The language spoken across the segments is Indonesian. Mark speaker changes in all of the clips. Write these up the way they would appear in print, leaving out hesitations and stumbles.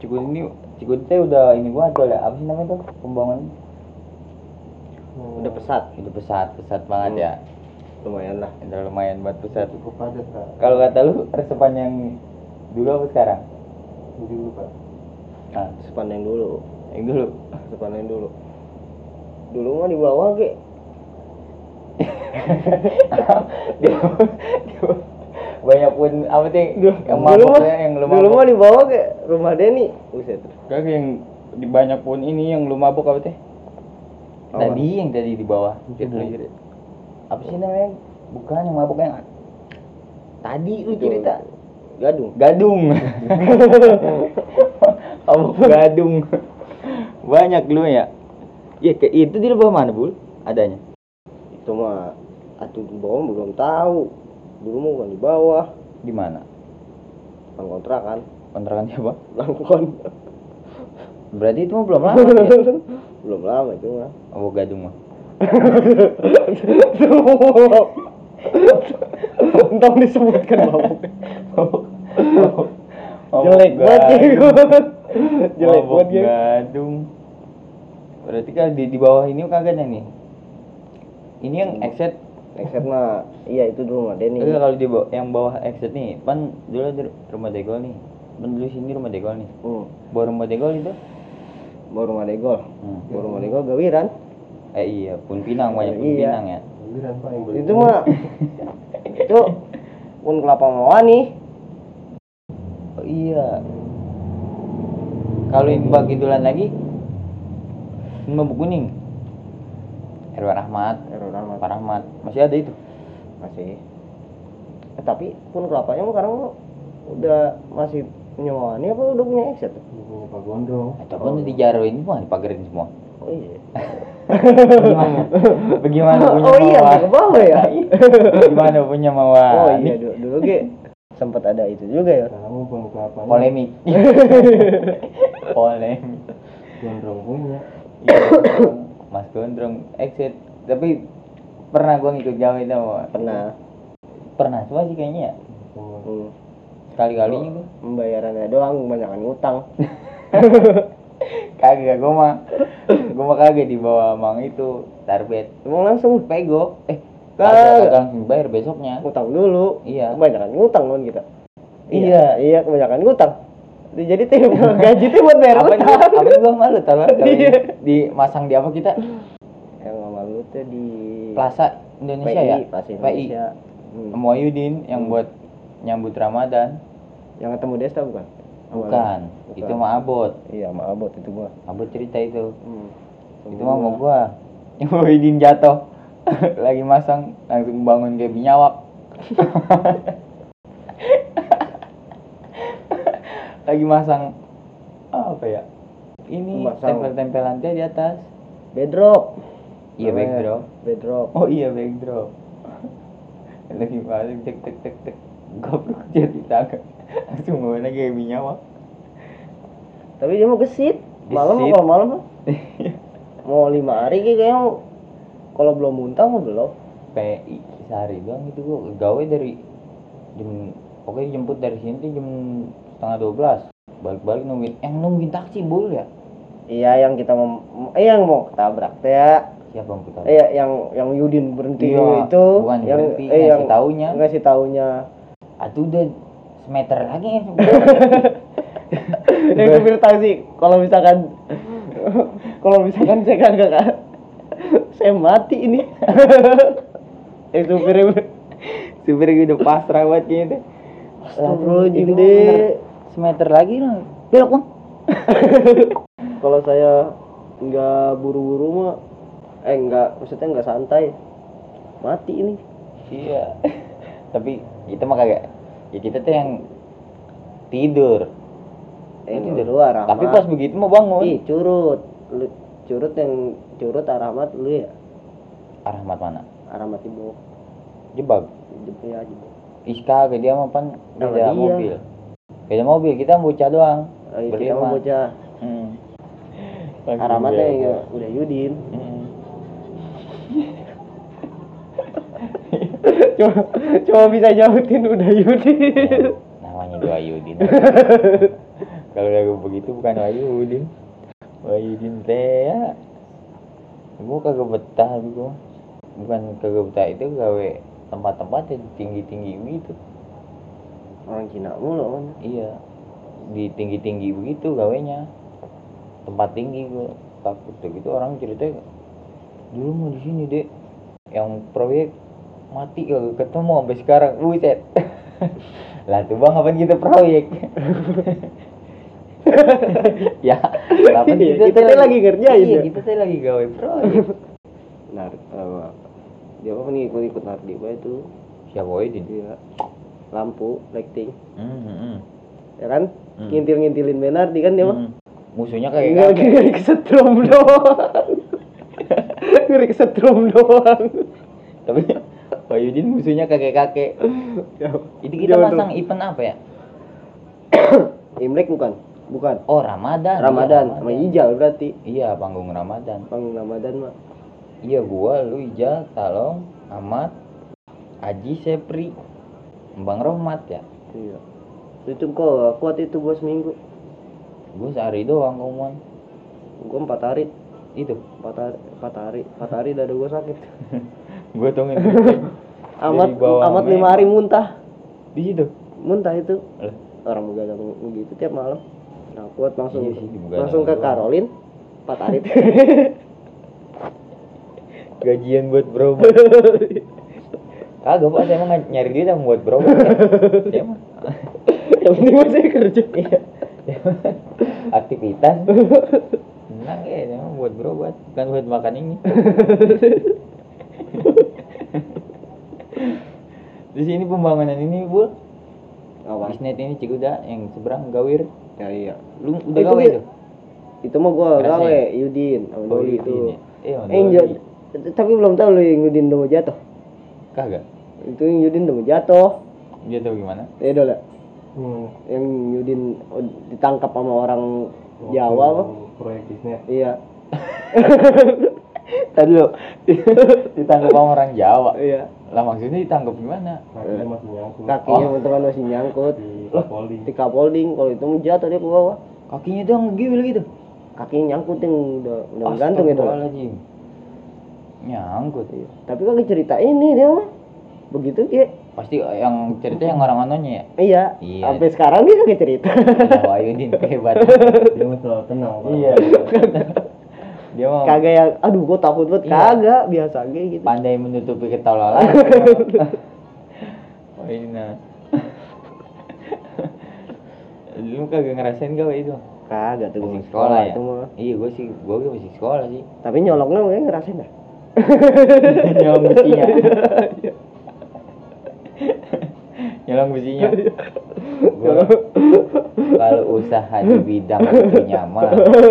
Speaker 1: Cikuni udah ini gua tuh apa sih namanya tuh pembangunan?
Speaker 2: Udah pesat
Speaker 1: banget ya.
Speaker 2: Lumayan lah.
Speaker 1: Udah lumayan buat pesat.
Speaker 2: Cukup padat Kak.
Speaker 1: Kalau kata lu resepan yang dulu apa sekarang?
Speaker 2: Dulu Pak.
Speaker 1: Nah,
Speaker 2: Resepan yang dulu.
Speaker 1: Resepan
Speaker 2: yang dulu. Dulu mah di bawah ge.
Speaker 1: Banyak pun apa sih yang mabuknya yang lu mabuk.
Speaker 2: Dulu mah di bawah ge rumah Denny. Buset.
Speaker 1: Kagak yang di banyak pun ini yang lu mabuk apa teh? Yang tadi di bawah. Apa sih namanya? Bukan yang mabuk yang tadi lu cerita. Gadung. Gadung. Banyak lu ya. Ya itu di bawah mana, Bul? Adanya.
Speaker 2: Itu mah atuh di bawah belum tahu. Dulu mah bukan di bawah.
Speaker 1: Di mana?
Speaker 2: Kontrakan.
Speaker 1: Kontrakan siapa?
Speaker 2: Langkon.
Speaker 1: Berarti itu mah belum lama. Ya?
Speaker 2: Belum lama itu mah.
Speaker 1: Oh, Gadung mah.
Speaker 2: Untung disebutkan mabuk.
Speaker 1: Jelek banget.
Speaker 2: Jelek banget
Speaker 1: Gadung. Berarti kan di bawah ini kagak nih. Ini yang exit
Speaker 2: mah iya itu dulu rumah Denny.
Speaker 1: Kalau di bawah yang bawah exit nih, pan dulu ada rumah Degol nih. Pan dulu sini rumah Degol nih. Bawah rumah Degol itu?
Speaker 2: Bawah rumah Degol. Bawah rumah Degol gawiran.
Speaker 1: Iya, Pun Pinang banyak Pun Pinang ya.
Speaker 2: Gawiran Pak yang itu mah. Itu Pun Kelapa Mawani.
Speaker 1: Oh iya. Kalau yang bagi dulan lagi Mabuk Kuning. Erwan Ahmad. Pak Rahmat. Masih ada itu?
Speaker 2: Masih. Tapi Pun Kelapanya sekarang udah masih punya Mawani apa udah punya exit? Punya Pak Gondrong.
Speaker 1: Atau pun dijaroin semua, dipagerin semua.
Speaker 2: Oh iya.
Speaker 1: Bagaimana punya
Speaker 2: Oh iya, ke bawah ya.
Speaker 1: Gimana punya Mawani?
Speaker 2: Oh iya, dulu sempat ada itu juga ya.
Speaker 3: Kamu pengungkapan
Speaker 1: Polemik.
Speaker 3: Gondrong punya.
Speaker 1: Iya, Mas Gondrong exit. Tapi pernah gua ngikut jauh itu. Pernah semua sih kayaknya ya. Sekali-kalinya gua.
Speaker 2: Pembayarannya doang, kebanyakan ngutang.
Speaker 1: Kagak, gua mah kagak di bawah Mang itu tarbet.
Speaker 2: Emang langsung
Speaker 1: pego. Kagak langsung bayar besoknya.
Speaker 2: Ngutang dulu.
Speaker 1: Iya.
Speaker 2: Kebanyakan ngutang kan kita.
Speaker 1: Iya,
Speaker 2: kebanyakan ngutang. Jadi gaji tuh buat bayar utang.
Speaker 1: Apa gua malu tahu dimasang di apa kita?
Speaker 2: Yang malu tuh di
Speaker 1: Plaza Indonesia ya?
Speaker 2: PI.
Speaker 1: Sama Ayudin yang buat nyambut Ramadan.
Speaker 2: Yang ketemu Desta bukan?
Speaker 1: Bukan. Itu mah Abot.
Speaker 2: Iya, sama Abot itu gua.
Speaker 1: Abot cerita itu. Itu mah mau gua. Yang Ayudin jatuh. Lagi masang langsung bangun kayak binyawak. Lagi masang apa ya? Ini tempel-tempelan dia di atas.
Speaker 2: Bedrock.
Speaker 1: Iya,
Speaker 2: Bedrock.
Speaker 1: Oh iya, backdrop. Lagi masang tek. Goblok jadi tangan. Langsung bawa lagi kayak binyawak.
Speaker 2: Tapi dia mau gesit. Kalau malam mau 5 hari kayaknya kalau belum muntah mau belum.
Speaker 1: PI sehari doang itu gua gawe dari jam pokoknya jemput dari sini tuh jam 11:30. Balik-balik nungguin taksi Bul ya.
Speaker 2: Iya, yang kita yang mau ketabrak teh ya.
Speaker 1: Siapa yang ketabrak?
Speaker 2: Iya, yang Yudin berhenti itu.
Speaker 1: Bukan
Speaker 2: yang
Speaker 1: berhenti, ngasih taunya. Atuh udah semeter lagi ya.
Speaker 2: Yang supir taksi kalau misalkan saya kagak saya mati ini.
Speaker 1: Supirnya udah pasrah banget kayaknya.
Speaker 2: Astagfirullahaladzim deh.
Speaker 1: Semeter lagi lah. Belok Bang.
Speaker 2: Kalau saya nggak buru-buru mah maksudnya nggak santai. Mati ini.
Speaker 1: Iya. Tapi kita mah kagak. Ya kita tuh yang tidur.
Speaker 2: Tidur.
Speaker 1: Tapi pas begitu mau bangun.
Speaker 2: Ih, curut Arahmat lu ya?
Speaker 1: Arahmat mana?
Speaker 2: Arahmat ibu.
Speaker 1: Jebak.
Speaker 2: Ya, jebak.
Speaker 1: Iska ke dia mah pan beda mobil. Beda mobil, kita bocah doang.
Speaker 2: Kita mau bocah. Arahmatnya ya udah Yudin. Cuma bisa jauhin udah Yudin.
Speaker 1: Namanya dua Yudin. Kalau kagak begitu bukan Wahyudin teh ya. Gua kagak betah gua. Bukan kagak betah itu gawe tempat-tempat yang tinggi-tinggi gitu.
Speaker 2: Orang Cina mulu kan.
Speaker 1: Iya. Di tinggi-tinggi begitu gawenya. Tempat tinggi gua takut gitu orang cerita dulu mau di sini dek yang proyek mati kagak ketemu sampai sekarang buset. Lah tuh bang apaan kita proyek. Ya apaan
Speaker 2: Kita teh lagi ngerjain
Speaker 1: iya,
Speaker 2: ya.
Speaker 1: kita teh lagi gawe proyek.
Speaker 2: Dia apa nih ikut Nardiba itu
Speaker 1: Siapa Wahyudin?
Speaker 2: dia lampu lighting
Speaker 1: Hmm.
Speaker 2: ya kan
Speaker 1: Hmm.
Speaker 2: ngintil-ngintilin Benardi kan dia mah
Speaker 1: Musuhnya kayak
Speaker 2: enggak ngeri kesetrum doang. Ngeri kesetrum doang.
Speaker 1: tapi Wahyudin musuhnya kakek-kakek. Itu kita
Speaker 2: Jodoh.
Speaker 1: pasang event apa ya?
Speaker 2: Imlek bukan
Speaker 1: Oh Ramadan.
Speaker 2: Ramadan
Speaker 1: Iya,
Speaker 2: sama Ijal berarti
Speaker 1: Iya panggung Ramadan.
Speaker 2: panggung Ramadan mah
Speaker 1: Iya gua, lu Ijal, Talong, Ahmad, Aji, Sepri, Bang Rohmat ya.
Speaker 2: iya itu kok kuat itu gua seminggu
Speaker 1: Gua sehari doang ngomong.
Speaker 2: gua 4 hari
Speaker 1: Itu
Speaker 2: 4 hari dada gua sakit.
Speaker 1: gua tungguin.
Speaker 2: Amat 5 hari muntah
Speaker 1: Di situ.
Speaker 2: muntah itu
Speaker 1: Lah,
Speaker 2: orang begadang begitu tiap malam. Nah kuat langsung
Speaker 1: Iya sih, begadang
Speaker 2: langsung ke
Speaker 1: doang.
Speaker 2: Karolin 4 hari.
Speaker 1: gajian buat bro. Kagak Pak, saya emang nyari duit yang buat bro. Saya mah
Speaker 2: Yang penting masih kerja.
Speaker 1: iya. Aktivitas. Senang ya, emang buat berobat, bukan buat makan ini. Di sini pembangunan ini, Bu.
Speaker 2: Apa?
Speaker 1: Bisnet ini Cikuda yang seberang Gawir.
Speaker 2: Ya iya.
Speaker 1: Lu udah
Speaker 2: Itu
Speaker 1: gawe
Speaker 2: dia.
Speaker 1: itu?
Speaker 2: Itu mah gua
Speaker 1: Ngerasain?
Speaker 2: gawe Yudin sama Doli itu.
Speaker 1: Yudin ya? Iya, sama
Speaker 2: Enjot.
Speaker 1: Doli.
Speaker 2: Tapi belum tahu lu yang Yudin udah mau jatuh.
Speaker 1: Kagak.
Speaker 2: Itu yang Yudin udah mau jatuh.
Speaker 1: Dia tahu gimana?
Speaker 2: Ya udah lah.
Speaker 3: Hmm.
Speaker 2: Yang Yudin ditangkap sama orang Jawa apa?
Speaker 3: Proyek bisnis.
Speaker 2: Iya.
Speaker 1: Tadi lo ditangkap sama orang Jawa.
Speaker 2: Iya.
Speaker 1: Lah maksudnya ditangkap gimana?
Speaker 3: Kakinya masih nyangkut.
Speaker 2: Kakinya teman masih nyangkut
Speaker 3: Di Kapolri.
Speaker 2: di kapholding. Kalau itu mau jatuh dia ke bawah.
Speaker 1: Kakinya tuh ngegil gitu.
Speaker 2: Kakinya nyangkut yang udah gantung itu.
Speaker 1: Astagfirullahaladzim. Nyangkut.
Speaker 2: Iya. Tapi kalau cerita ini dia mah begitu dia.
Speaker 1: Pasti yang cerita yang orang anonya ya.
Speaker 2: Iya.
Speaker 1: Iya.
Speaker 2: Sampai sekarang dia kagak cerita.
Speaker 1: Lah Wahyudin hebat.
Speaker 3: Dia mah selalu tenang. Pak.
Speaker 1: Iya. Dia mah
Speaker 2: Kagak yang aduh gua takut banget.
Speaker 1: Iya.
Speaker 2: Kagak, biasa aja gitu.
Speaker 1: pandai menutupi ketololan. Wahyudin. Lu kagak ngerasain gawe itu?
Speaker 2: Kagak tuh gua
Speaker 1: Masih sekolah ya?
Speaker 2: itu mah.
Speaker 1: Iya, gua masih sekolah sih.
Speaker 2: Tapi nyoloknya gue ngerasain dah.
Speaker 1: Nyolong besinya. Nyolong besinya. Gua kalau usaha di bidang punya mah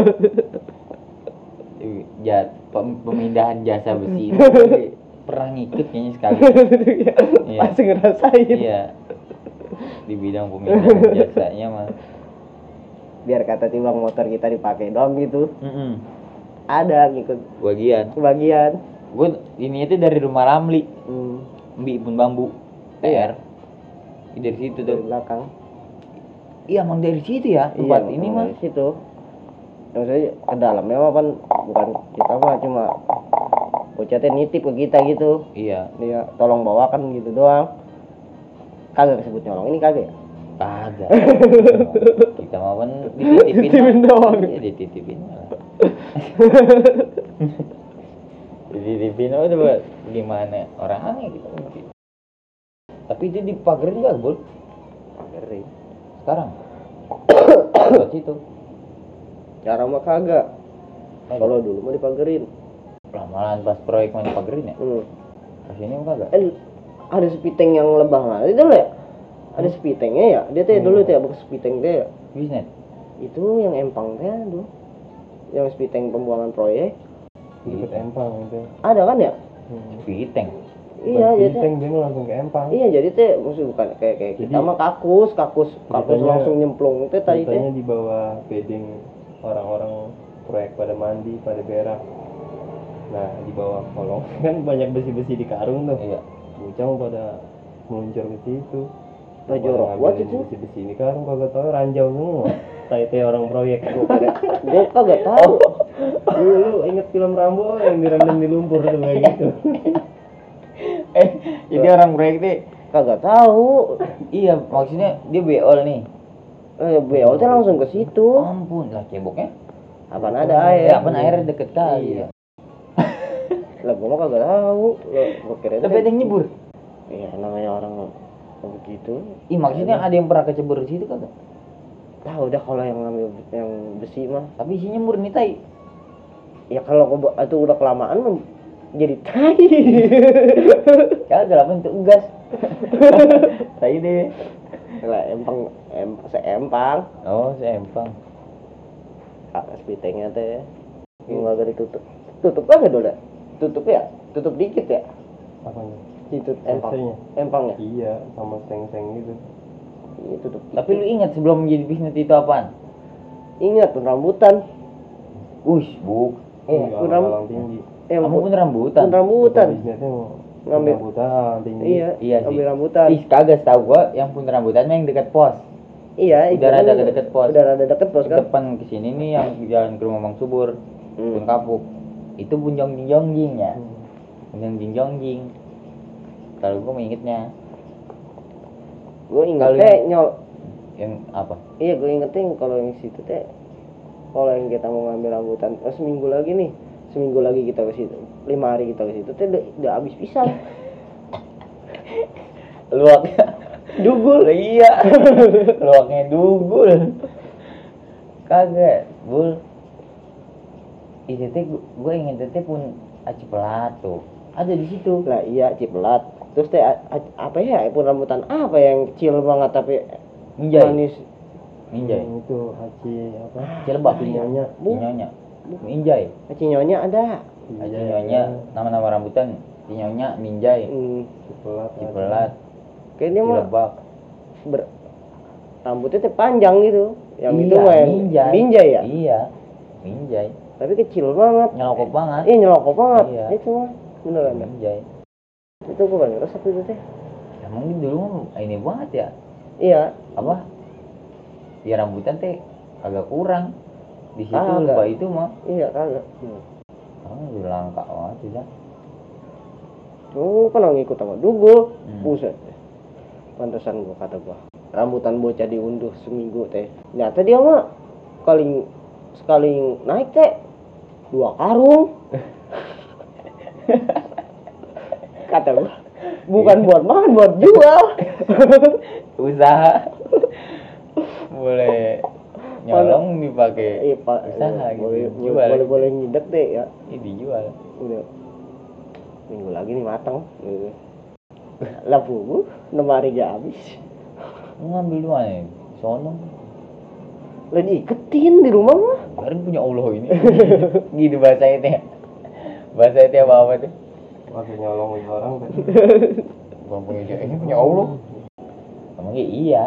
Speaker 1: pemindahan jasa besi itu pernah ngikut kayaknya sekali. Iya.
Speaker 2: Pasti ngerasain.
Speaker 1: Iya. Di bidang pemindahan jasanya mah.
Speaker 2: Biar kata timbang motor kita dipakai doang gitu.
Speaker 1: Mm-mm.
Speaker 2: Ada ngikut
Speaker 1: Bagian.
Speaker 2: kebagian.
Speaker 1: Gue ini itu dari rumah Ramli,
Speaker 2: Hmm,
Speaker 1: Mbi pun bambu. TR. Dari situ
Speaker 2: dari
Speaker 1: tuh.
Speaker 2: belakang.
Speaker 1: Iya, emang dari situ ya tempat ini mah.
Speaker 2: Dari situ. Yang saya ke dalamnya mah kan bukan kita mah cuma bocahnya nitip ke kita gitu.
Speaker 1: Iya.
Speaker 2: Dia tolong bawakan gitu doang. Kagak kesebut nyolong ini kagak ya?
Speaker 1: Kagak. Kita mah kan dititipin.
Speaker 2: Dititipin doang.
Speaker 1: Iya, dititipin malah. Dititipin aja buat gimana orang aneh gitu. Tapi itu dipagerin enggak, Bul?
Speaker 2: Pagerin.
Speaker 1: Sekarang. Buat situ.
Speaker 2: Cara mah kagak. Kalau dulu mah dipagerin.
Speaker 1: Lamalan pas proyek mau dipagerin ya. Pas ini mah kagak.
Speaker 2: Ada sepiteng yang lebah lah. Itu loh ya. Ada sepitengnya ya. Dia tuh dulu tuh ya bekas sepiteng teh ya.
Speaker 1: Bisnet.
Speaker 2: Itu yang empang teh dulu. Yang sepiteng pembuangan proyek.
Speaker 3: Deket Empang itu.
Speaker 2: Ada kan ya?
Speaker 1: Piteng.
Speaker 2: Iya, jadi
Speaker 3: Binteng dia mah langsung ke Empang.
Speaker 2: iya jadi teh maksud bukan kayak kita
Speaker 3: Jadi-
Speaker 2: mah kakus
Speaker 3: Ceritanya-
Speaker 2: langsung nyemplung teh tadi teh.
Speaker 3: Ceritanya di bawah bedeng orang-orang proyek pada mandi, pada berak. Nah, di bawah kolong kan banyak besi-besi di karung tuh.
Speaker 1: Iya.
Speaker 3: Bocah mau pada meluncur ke situ.
Speaker 2: Baju
Speaker 3: Pada
Speaker 2: rok
Speaker 3: ngambilin
Speaker 2: buat itu.
Speaker 3: Besi-besi di karung kagak tahu ranjau semua. Kayak orang proyek.
Speaker 2: Gue kagak tahu.
Speaker 3: Lu inget film Rambo yang direndam di lumpur tuh kayak gitu.
Speaker 1: Jadi orang proyek deh.
Speaker 2: Kagak tahu.
Speaker 1: Iya, maksudnya dia beol nih.
Speaker 2: Beol tuh langsung ke situ.
Speaker 1: Ampun lah ceboknya.
Speaker 2: Apaan ada air?
Speaker 1: Ya, apaan airnya deket kali ya.
Speaker 2: Lah gua mah kagak tahu. Gua kira
Speaker 1: Tapi ada yang nyebur.
Speaker 2: Iya, namanya orang begitu.
Speaker 1: Ih, maksudnya ada yang pernah kecebur di situ kagak?
Speaker 2: Tahu udah kalau yang ngambil yang besi mah.
Speaker 1: Tapi isinya murni tai.
Speaker 2: Ya kalau itu udah kelamaan mah jadi tai.
Speaker 1: Kagak lah bentuk gas. Tai deh.
Speaker 2: Lah seempang.
Speaker 1: Oh, seempang.
Speaker 2: Spitengnya teh. Enggak ada ditutup. Tutup kagak dulu? Tutup ya? Tutup dikit ya?
Speaker 3: Apanya?
Speaker 2: Itu empang.
Speaker 3: Sensenya?
Speaker 2: Empangnya.
Speaker 3: Iya, sama seng-seng gitu.
Speaker 2: Iya tutup.
Speaker 1: Tapi lu ingat sebelum menjadi bisnis itu apaan?
Speaker 2: Ingat pun rambutan.
Speaker 1: Ush, buk.
Speaker 3: Enggak,
Speaker 2: pun ram-
Speaker 3: alang tinggi.
Speaker 1: Kamu pun rambutan.
Speaker 2: Pun rambutan.
Speaker 3: Bisnisnya mau
Speaker 2: Ngambil.
Speaker 3: rambutan alang tinggi.
Speaker 2: Iya,
Speaker 1: Iya sih.
Speaker 2: ambil rambutan.
Speaker 1: Ih, kagak tahu gua yang pun rambutan yang dekat pos.
Speaker 2: Iya,
Speaker 1: Udah rada deket pos.
Speaker 2: Udah rada deket pos kan?
Speaker 1: Depan kesini nih yang jalan ke rumah Mang Subur, Pun Kapuk. Itu bunjong jingjong ya. Bunjong jingjong. Kalau gua mengingetnya
Speaker 2: Gue inget
Speaker 1: Kalau
Speaker 2: teh nyol.
Speaker 1: yang apa?
Speaker 2: Iya, gue ingetin kalau yang situ teh, kalau yang kita mau ngambil rambutan, seminggu lagi nih, seminggu lagi kita ke situ, 5 hari kita ke situ teh udah habis pisang.
Speaker 1: Luaknya dugul. Iya. Luaknya dugul. Kagak, Bul. Itu teh gue ingin teh pun aci pelat tuh. Ada di situ.
Speaker 2: Lah iya cipelat. Terus teh apa ya? Pun rambutan apa yang kecil banget tapi
Speaker 1: Minjai.
Speaker 2: manis.
Speaker 1: Minjai.
Speaker 3: Itu haji apa?
Speaker 1: Cilebak.
Speaker 3: Nyonya.
Speaker 1: Nyonya. Minjai.
Speaker 2: Cinyonya ada.
Speaker 1: Haji nyonya, nama-nama rambutan. Nyonya, minjai, cipelat,
Speaker 2: Kayaknya mah
Speaker 1: cilebak.
Speaker 2: rambutnya teh panjang gitu. Yang itu
Speaker 1: Iya,
Speaker 2: mah yang
Speaker 1: minjai.
Speaker 2: minjai ya.
Speaker 1: Iya, minjai.
Speaker 2: Tapi kecil banget.
Speaker 1: Nyelokok banget.
Speaker 2: Iya nyelokok banget.
Speaker 1: Iya.
Speaker 2: Itu mah beneran dah.
Speaker 1: Minjai.
Speaker 2: Itu gue paling resep itu teh.
Speaker 1: Emang dulu mah ini banget ya.
Speaker 2: Iya.
Speaker 1: Apa? Ya rambutan teh agak kurang. Di situ
Speaker 2: Agak.
Speaker 1: lupa itu mah.
Speaker 2: Iya kagak.
Speaker 1: Udah langka banget sih dah.
Speaker 2: Oh, kan ngikut sama Dugul.
Speaker 1: Hmm.
Speaker 2: Buset. Pantesan gua kata gua. Rambutan bocah diunduh seminggu teh. Ternyata dia mah sekali naik teh 2 karung. Kata gua. Bukan buat makan, buat jual.
Speaker 1: Usaha. Boleh nyolong dipakai
Speaker 2: Iya, Pak.
Speaker 1: usaha gitu.
Speaker 2: Boleh
Speaker 1: Jual.
Speaker 2: boleh ngidek deh ya.
Speaker 1: Ini dijual.
Speaker 2: Udah. Minggu lagi nih matang. Lah bu, 6 hari gak habis.
Speaker 1: Mau ngambil di mana nih? Sono.
Speaker 2: Lah diiketin di rumah mah.
Speaker 1: Baru punya Allah ini. Gitu bahasanya teh. Bahasa teh apa tuh?
Speaker 3: Masih nyolong orang kan.
Speaker 1: Bukan punya dia, ini punya Allah. Emangnya iya.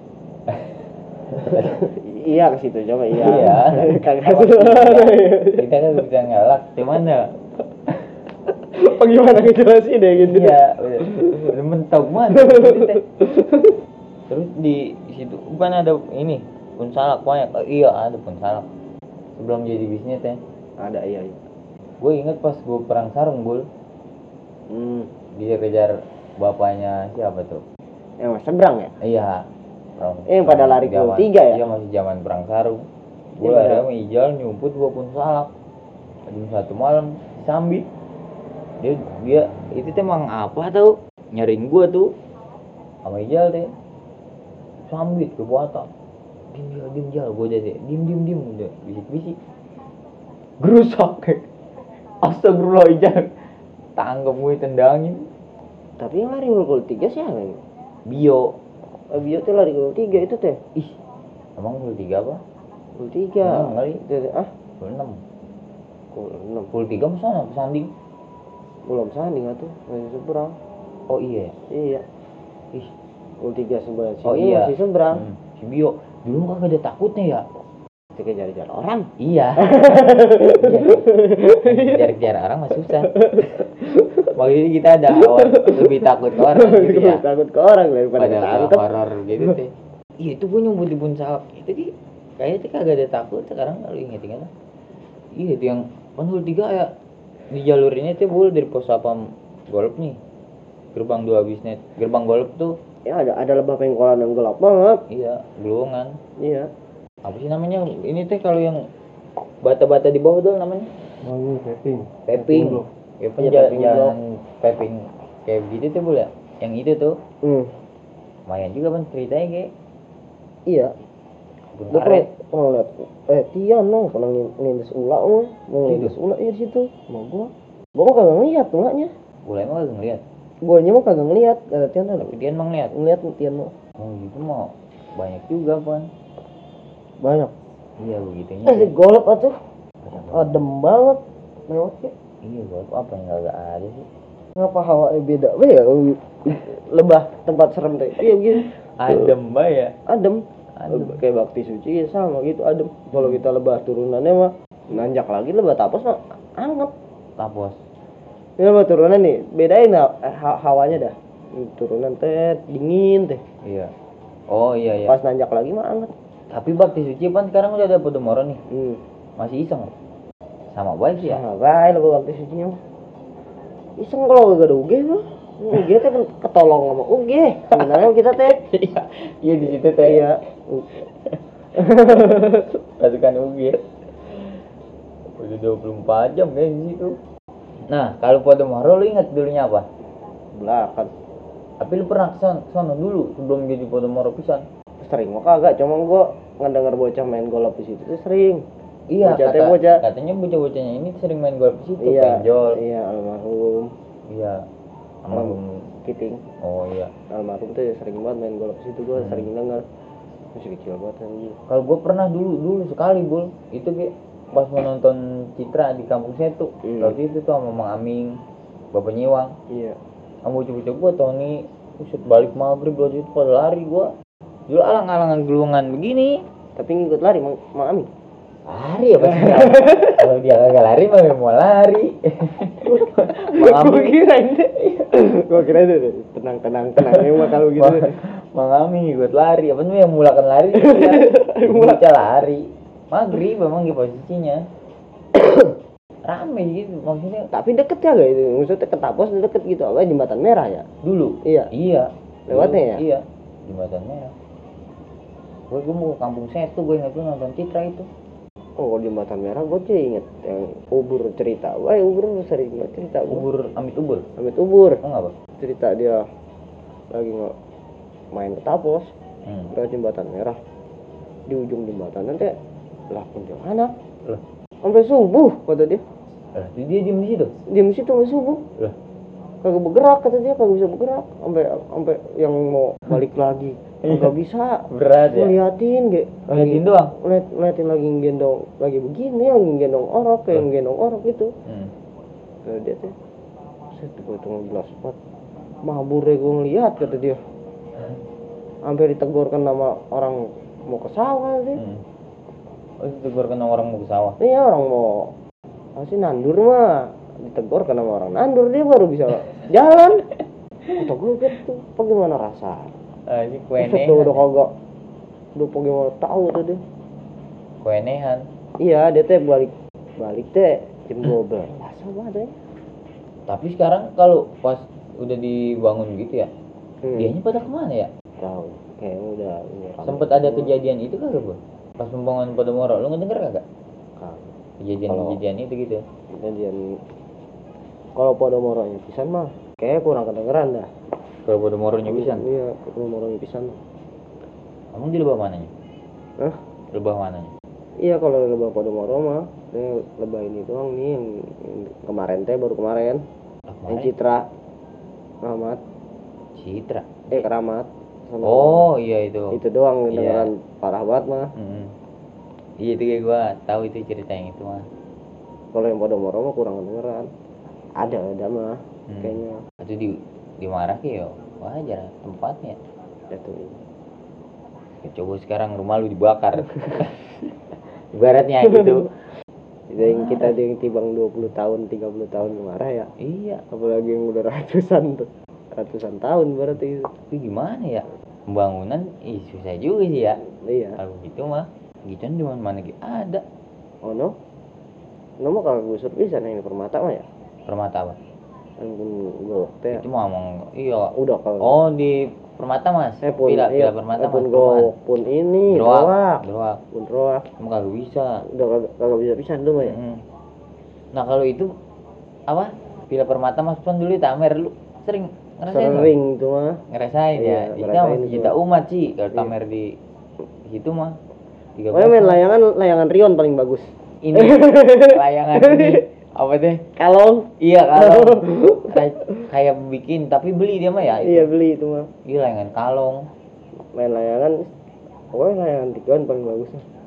Speaker 2: Iya ke situ coba iya.
Speaker 1: Iya.
Speaker 2: Kagak.
Speaker 1: Kita kan bisa ngelak, gimana?
Speaker 2: Bagaimana ngejelasin deh gitu.
Speaker 1: Iya, udah mentok mana? Gitu, teh. Terus di situ bukan ada ini pun salak banyak. Iya ada pun salak. Sebelum jadi bisnis teh.
Speaker 2: Ada iya.
Speaker 1: Gue inget pas gue perang sarung Bul. Dia kejar bapaknya siapa tuh?
Speaker 2: Yang Mas Seberang ya?
Speaker 1: Iya.
Speaker 2: Yang pada lari ke
Speaker 1: zaman-
Speaker 2: 3 ya?
Speaker 1: Iya masih zaman perang sarung.
Speaker 2: Iya,
Speaker 1: Gue
Speaker 2: benar.
Speaker 1: ada sama Ijal nyumput gue pun salak. Jam 1 malam sambit. Dia itu teh emang apa tau? Nyariin gue tuh sama Ijal teh. Sambit ke buatan. Dim jal gue aja deh. Dim udah bisik. Gerusak. Astagfirullah Ijal. Tanggap gue tendangin.
Speaker 2: Tapi yang lari gol 3 siapa ini?
Speaker 1: Bio.
Speaker 2: Bio tuh lari gol 3 itu teh.
Speaker 1: Ih. Emang gol 3 apa?
Speaker 2: Gol 3.
Speaker 1: Kali.
Speaker 2: Gol 6.
Speaker 1: Gol 6.
Speaker 2: Gol 6.
Speaker 1: Gol 3 mana pesanding?
Speaker 2: Belum sanding atuh, masih Seberang.
Speaker 1: Oh iya.
Speaker 2: Iya.
Speaker 1: Ih.
Speaker 2: Gol 3 sebelah sini
Speaker 1: Oh iya.
Speaker 2: masih Seberang.
Speaker 1: Si Bio. Dulu kagak ada takutnya ya?
Speaker 2: Kejar-kejar orang.
Speaker 1: Iya. Kejar-kejar orang mah susah. Makanya kita ada awal lebih takut ke orang gitu ya.
Speaker 2: Takut ke orang daripada
Speaker 1: Pada
Speaker 2: tangkep.
Speaker 1: horor gitu teh. Iya itu gue nyumbut di pun salak. Itu di Kayaknya itu kagak ada takut sekarang kalau inget-inget. Iya itu yang Pantul 3 ya di jalur ini tuh bul dari pos sapam golf nih. Gerbang 2 bisnet. Gerbang golf tuh
Speaker 2: Ya ada lebah pengkolan yang gelap banget.
Speaker 1: iya, gelongan.
Speaker 2: Iya.
Speaker 1: Apa sih namanya? Ini teh kalau yang bata-bata di bawah tuh namanya
Speaker 3: Oh ini vaping.
Speaker 1: paving.
Speaker 3: blok.
Speaker 1: Ya
Speaker 2: Iya, paving
Speaker 1: jalan paving kayak gitu tuh bul ya. Yang itu tuh lumayan juga Bang ceritanya kayak
Speaker 2: Iya.
Speaker 1: kebun
Speaker 2: Gue
Speaker 1: karet.
Speaker 2: pernah lihat Tian pernah nindes ular mau nindes ular di situ. Mau gua mah kagak ngeliat ulahnya.
Speaker 1: Boleh emang kagak ngeliat.
Speaker 2: Guanya mah kagak ngeliat. Ada Tian ada.
Speaker 1: Tapi dia emang ngeliat.
Speaker 2: Ngeliat Tian mah
Speaker 1: Oh gitu mau banyak juga Pan.
Speaker 2: banyak.
Speaker 1: Iya begitunya.
Speaker 2: Di golf atuh adem banget lewatnya.
Speaker 1: Iya golf apa yang kagak ada sih?
Speaker 2: Ngapa hawanya beda? Ya lebah tempat serem teh. Iya gitu.
Speaker 1: Adem mbak ya.
Speaker 2: Adem.
Speaker 1: Adem.
Speaker 2: Kayak bakti suci ya sama gitu adem. Kalau kita lebah turunannya mah nanjak lagi lebah tapos mah anget.
Speaker 1: Tapos.
Speaker 2: Ya lebah turunan nih bedain hawanya dah. Turunan teh dingin teh.
Speaker 1: Iya. Oh iya iya.
Speaker 2: Pas nanjak lagi mah anget.
Speaker 1: Tapi bakti suci Pan sekarang udah ada Podomoro nih. Masih iseng. Sama baik sih ya.
Speaker 2: Sama baik lebah bakti suci mah. Iseng kalau gak ada UG mah. UG teh kan ketolong sama UG. Sebenarnya kita teh
Speaker 1: Iya. Iya di situ teh.
Speaker 2: iya.
Speaker 1: Pasukan UG. Udah 24 jam kayak di situ. Nah, kalau Podomoro lu ingat dulunya apa?
Speaker 2: Belakang.
Speaker 1: Tapi lu pernah kesana dulu sebelum jadi Podomoro pisan.
Speaker 2: Sering mah kagak, cuma gua ngedenger bocah main golf di situ tuh sering.
Speaker 1: Iya,
Speaker 2: Bocah.
Speaker 1: katanya bocah-bocahnya ini sering main golf di situ,
Speaker 2: Iya,
Speaker 1: penjol.
Speaker 2: iya almarhum.
Speaker 1: Iya. Almarhum
Speaker 2: Kiting.
Speaker 1: Oh iya.
Speaker 2: Almarhum tuh sering banget main golf di situ gua sering denger. Masih kecil banget anjing.
Speaker 1: Kalau gue pernah dulu sekali bul, itu kayak pas menonton Citra di kampung saya tuh, waktu itu tuh sama Mang Aming, Bapak Nyiwang,
Speaker 2: Iya.
Speaker 1: sama bocah-bocah gue Tony, uset balik maghrib waktu itu pada lari gue, dulu alang-alangan gelungan begini,
Speaker 2: Tapi ngikut lari Mang Ami.
Speaker 1: lari apa sih? Kalau dia kagak lari mah mau lari. Mang Aming,
Speaker 2: Gua kira itu tenang emang kalau gitu.
Speaker 1: Mang Aming ikut lari, apa tuh yang mulakan lari? Dia lari, maghrib memang gitu posisinya. Rame gitu maksudnya.
Speaker 2: Tapi deket ya gak itu? Maksudnya ke Tapos deket gitu apa jembatan merah ya?
Speaker 1: Dulu
Speaker 2: Iya. Lewatnya ya?
Speaker 1: Iya jembatan merah. Gue mau ke kampung Setu, gue ingat tuh nonton Citra itu.
Speaker 2: Oh jembatan merah gue sih inget yang Ubur cerita. Wah Ubur sering banget cerita.
Speaker 1: Amit Ubur.
Speaker 2: Oh
Speaker 1: nggak apa?
Speaker 2: cerita dia lagi main ke Tapos lewat jembatan merah. Di ujung jembatan nanti lah kuntilanak.
Speaker 1: Lah.
Speaker 2: Sampai subuh kata dia.
Speaker 1: Lah dia diem di situ.
Speaker 2: Diem di situ sampai subuh.
Speaker 1: Lah.
Speaker 2: Kagak bergerak kata dia, kagak bisa bergerak sampai yang mau balik lagi. Kagak bisa.
Speaker 1: Berat ya.
Speaker 2: Ngeliatin kayak
Speaker 1: Ngeliatin doang.
Speaker 2: Ngeliatin lagi gendong lagi begini, lagi gendong orok kayak gendong orok gitu. Kata dia tuh. Set gue tuh ngebelas banget. Mabur ya gue ngeliat kata dia. Sampai ditegurkan nama orang mau ke sawah sih.
Speaker 1: Oh ditegur kena orang mau ke sawah.
Speaker 2: Iya orang mau masih nandur mah ditegur karena orang nandur dia baru bisa jalan. Kata gue gitu, bagaimana rasa?
Speaker 1: Ini kuenehan.
Speaker 2: Udah kagak, udah bagaimana tahu tuh dia.
Speaker 1: Kuenehan.
Speaker 2: Iya dia teh balik teh jam 12 sama deh.
Speaker 1: Tapi sekarang kalau pas udah dibangun gitu ya, dianya pada kemana ya?
Speaker 2: Tahu, kayaknya udah.
Speaker 1: Sempet ada kejadian itu kagak bu? Pas pembangunan Podomoro, lu ngedenger kagak? Kejadian itu gitu.
Speaker 2: Kejadian kalau Podomoro-nya pisan mah kayak kurang kedengeran dah.
Speaker 1: Kalau Podomoro pisan?
Speaker 2: Iya, Podomoro pisan.
Speaker 1: Kamu di lebah mananya?
Speaker 2: Hah?
Speaker 1: Lebah mananya?
Speaker 2: Iya kalau lebah Podomoro mah, ini lebah ini doang nih yang kemarin teh baru kemarin. Yang Citra, Keramat.
Speaker 1: Citra.
Speaker 2: Keramat.
Speaker 1: Oh iya itu.
Speaker 2: Itu doang kedengeran parah banget mah.
Speaker 1: Iya itu kayak gua tahu itu cerita yang itu mah.
Speaker 2: Kalau yang Podomoro mah kurang kedengeran. Ada mah kayaknya.
Speaker 1: Itu dimarah ya wajar tempatnya.
Speaker 2: Itu.
Speaker 1: Ya, coba sekarang rumah lu dibakar. Ibaratnya gitu.
Speaker 2: Yang kita yang tibang 20 tahun, 30 tahun marah ya.
Speaker 1: Iya.
Speaker 2: Apalagi yang udah ratusan tahun berarti itu.
Speaker 1: Tapi gimana ya? Pembangunan susah juga sih ya.
Speaker 2: Iya.
Speaker 1: Kalau gitu mah. Gituan di mana lagi ada.
Speaker 2: Oh no mah kagak gusur bisa nih Permata mah ya
Speaker 1: Permata apa?
Speaker 2: kan golok teh
Speaker 1: Itu mah ngomong iya.
Speaker 2: udah kalau
Speaker 1: Oh di Permata Mas.
Speaker 2: pun
Speaker 1: Pila
Speaker 2: iya,
Speaker 1: Permata Mas.
Speaker 2: pun golok pun ini
Speaker 1: Droak.
Speaker 2: pun droak
Speaker 1: Kamu kagak bisa.
Speaker 2: udah kagak bisa tuh mah ya.
Speaker 1: Nah kalau itu apa? Pila Permata Mas pun dulu tamer lu sering ngerasain?
Speaker 2: Sering tuh mah.
Speaker 1: Ngerasain
Speaker 2: Iya,
Speaker 1: ya. Itu
Speaker 2: ngerasain
Speaker 1: masih
Speaker 2: itu.
Speaker 1: juta umat sih kalau
Speaker 2: Iya.
Speaker 1: tamer di situ mah. 13
Speaker 2: Oh main
Speaker 1: mah.
Speaker 2: layangan Rion paling bagus.
Speaker 1: Ini layangan ini apa deh?
Speaker 2: Kalong.
Speaker 1: Iya kalong. Kayak bikin tapi beli dia mah ya.
Speaker 2: Iya beli itu mah.
Speaker 1: Iya layangan kalong.
Speaker 2: Main layangan. Pokoknya layangan tigaan paling bagus.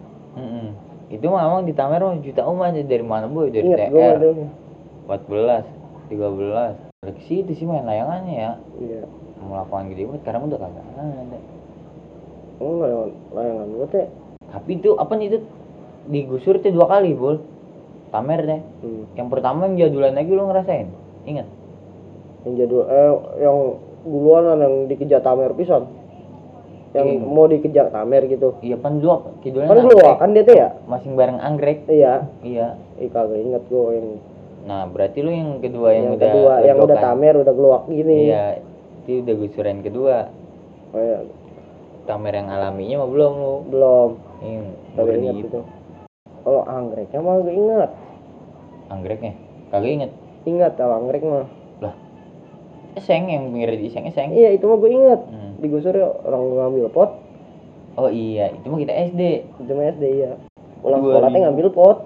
Speaker 1: Itu mah emang di Tamer mah juta umat dari mana boy dari
Speaker 2: Ingat gue
Speaker 1: TR
Speaker 2: tuh.
Speaker 1: 14 13 dari situ sih main layangannya ya.
Speaker 2: Iya.
Speaker 1: Mau lapangan gede banget sekarang udah kagak ada.
Speaker 2: Oh layangan gue teh.
Speaker 1: Tapi itu apa nih itu digusur tuh 2 kali bol Tamer deh. Yang pertama yang jadulan lagi lo ngerasain ingat
Speaker 2: Yang jadul yang duluan yang dikejar Tamer pisan. Yang mau dikejar Tamer gitu.
Speaker 1: iya pan dua kidulnya
Speaker 2: Kan keluar kan dia tuh ya
Speaker 1: masing bareng anggrek.
Speaker 2: Iya.
Speaker 1: Kagak
Speaker 2: Inget gue yang
Speaker 1: nah berarti lu yang kedua yang udah
Speaker 2: kedua yang udah Tamer udah keluar gini.
Speaker 1: iya itu udah gusuran kedua.
Speaker 2: Oh iya.
Speaker 1: Tamer yang alaminya mah belum lu
Speaker 2: Belum.
Speaker 1: Baru
Speaker 2: Ingat itu. Kalau anggreknya mah gue ingat.
Speaker 1: Anggreknya kagak inget.
Speaker 2: Ingat kalau anggrek mah.
Speaker 1: Lah eseng yang pinggir di eseng
Speaker 2: Iya itu mah gue ingat. Digusur ya orang ngambil pot.
Speaker 1: Oh iya itu mah kita SD.
Speaker 2: Itu mah SD ya. Pulang sekolah teh ngambil pot.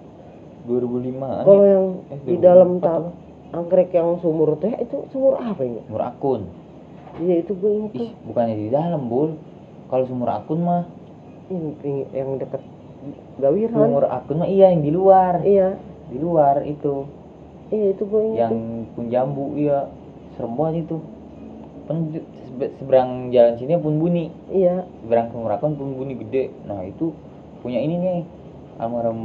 Speaker 1: 2005
Speaker 2: Kalau yang di dalam anggrek yang sumur teh itu sumur apa ini?
Speaker 1: sumur akun.
Speaker 2: Iya itu gue ingat tuh.
Speaker 1: Bukannya di dalam bul. Kalau sumur akun mah
Speaker 2: yang dekat Gawiran.
Speaker 1: Sumur akun mah iya yang di luar.
Speaker 2: Iya.
Speaker 1: Di luar itu.
Speaker 2: Iya itu gue ingat.
Speaker 1: Yang pun jambu iya. Serem banget itu. Seberang jalan sini pun bunyi.
Speaker 2: Iya.
Speaker 1: Seberang sumur akun pun bunyi gede. Nah itu punya ini nih. Almarhum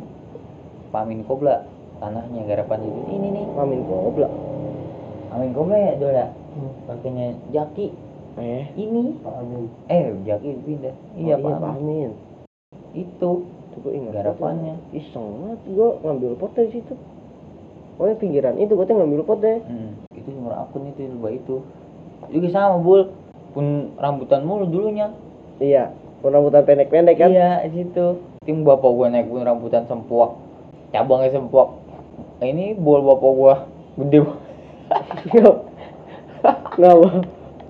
Speaker 1: Pamin Kobla. Tanahnya garapan itu. Ini nih.
Speaker 2: Pamin Kobla.
Speaker 1: Pamin Kobla ya dola. Pakainya Jaki. Ini.
Speaker 2: Pamin.
Speaker 1: Jaki pindah. Iya
Speaker 2: Pamin. Itu gue ingat
Speaker 1: garapannya.
Speaker 2: Iseng banget gue ngambil pot dari situ. Pokoknya pinggiran itu gue ngambil pot deh.
Speaker 1: Itu sumur akun itu lubang itu. Juga sama bul. Pun rambutan mulu dulunya.
Speaker 2: Iya. Pun rambutan pendek-pendek kan?
Speaker 1: Iya situ. Tim bapak gua naik pun rambutan sempuak. Cabangnya sempuak. Ini bol bapak gua gede.
Speaker 2: Ngapa?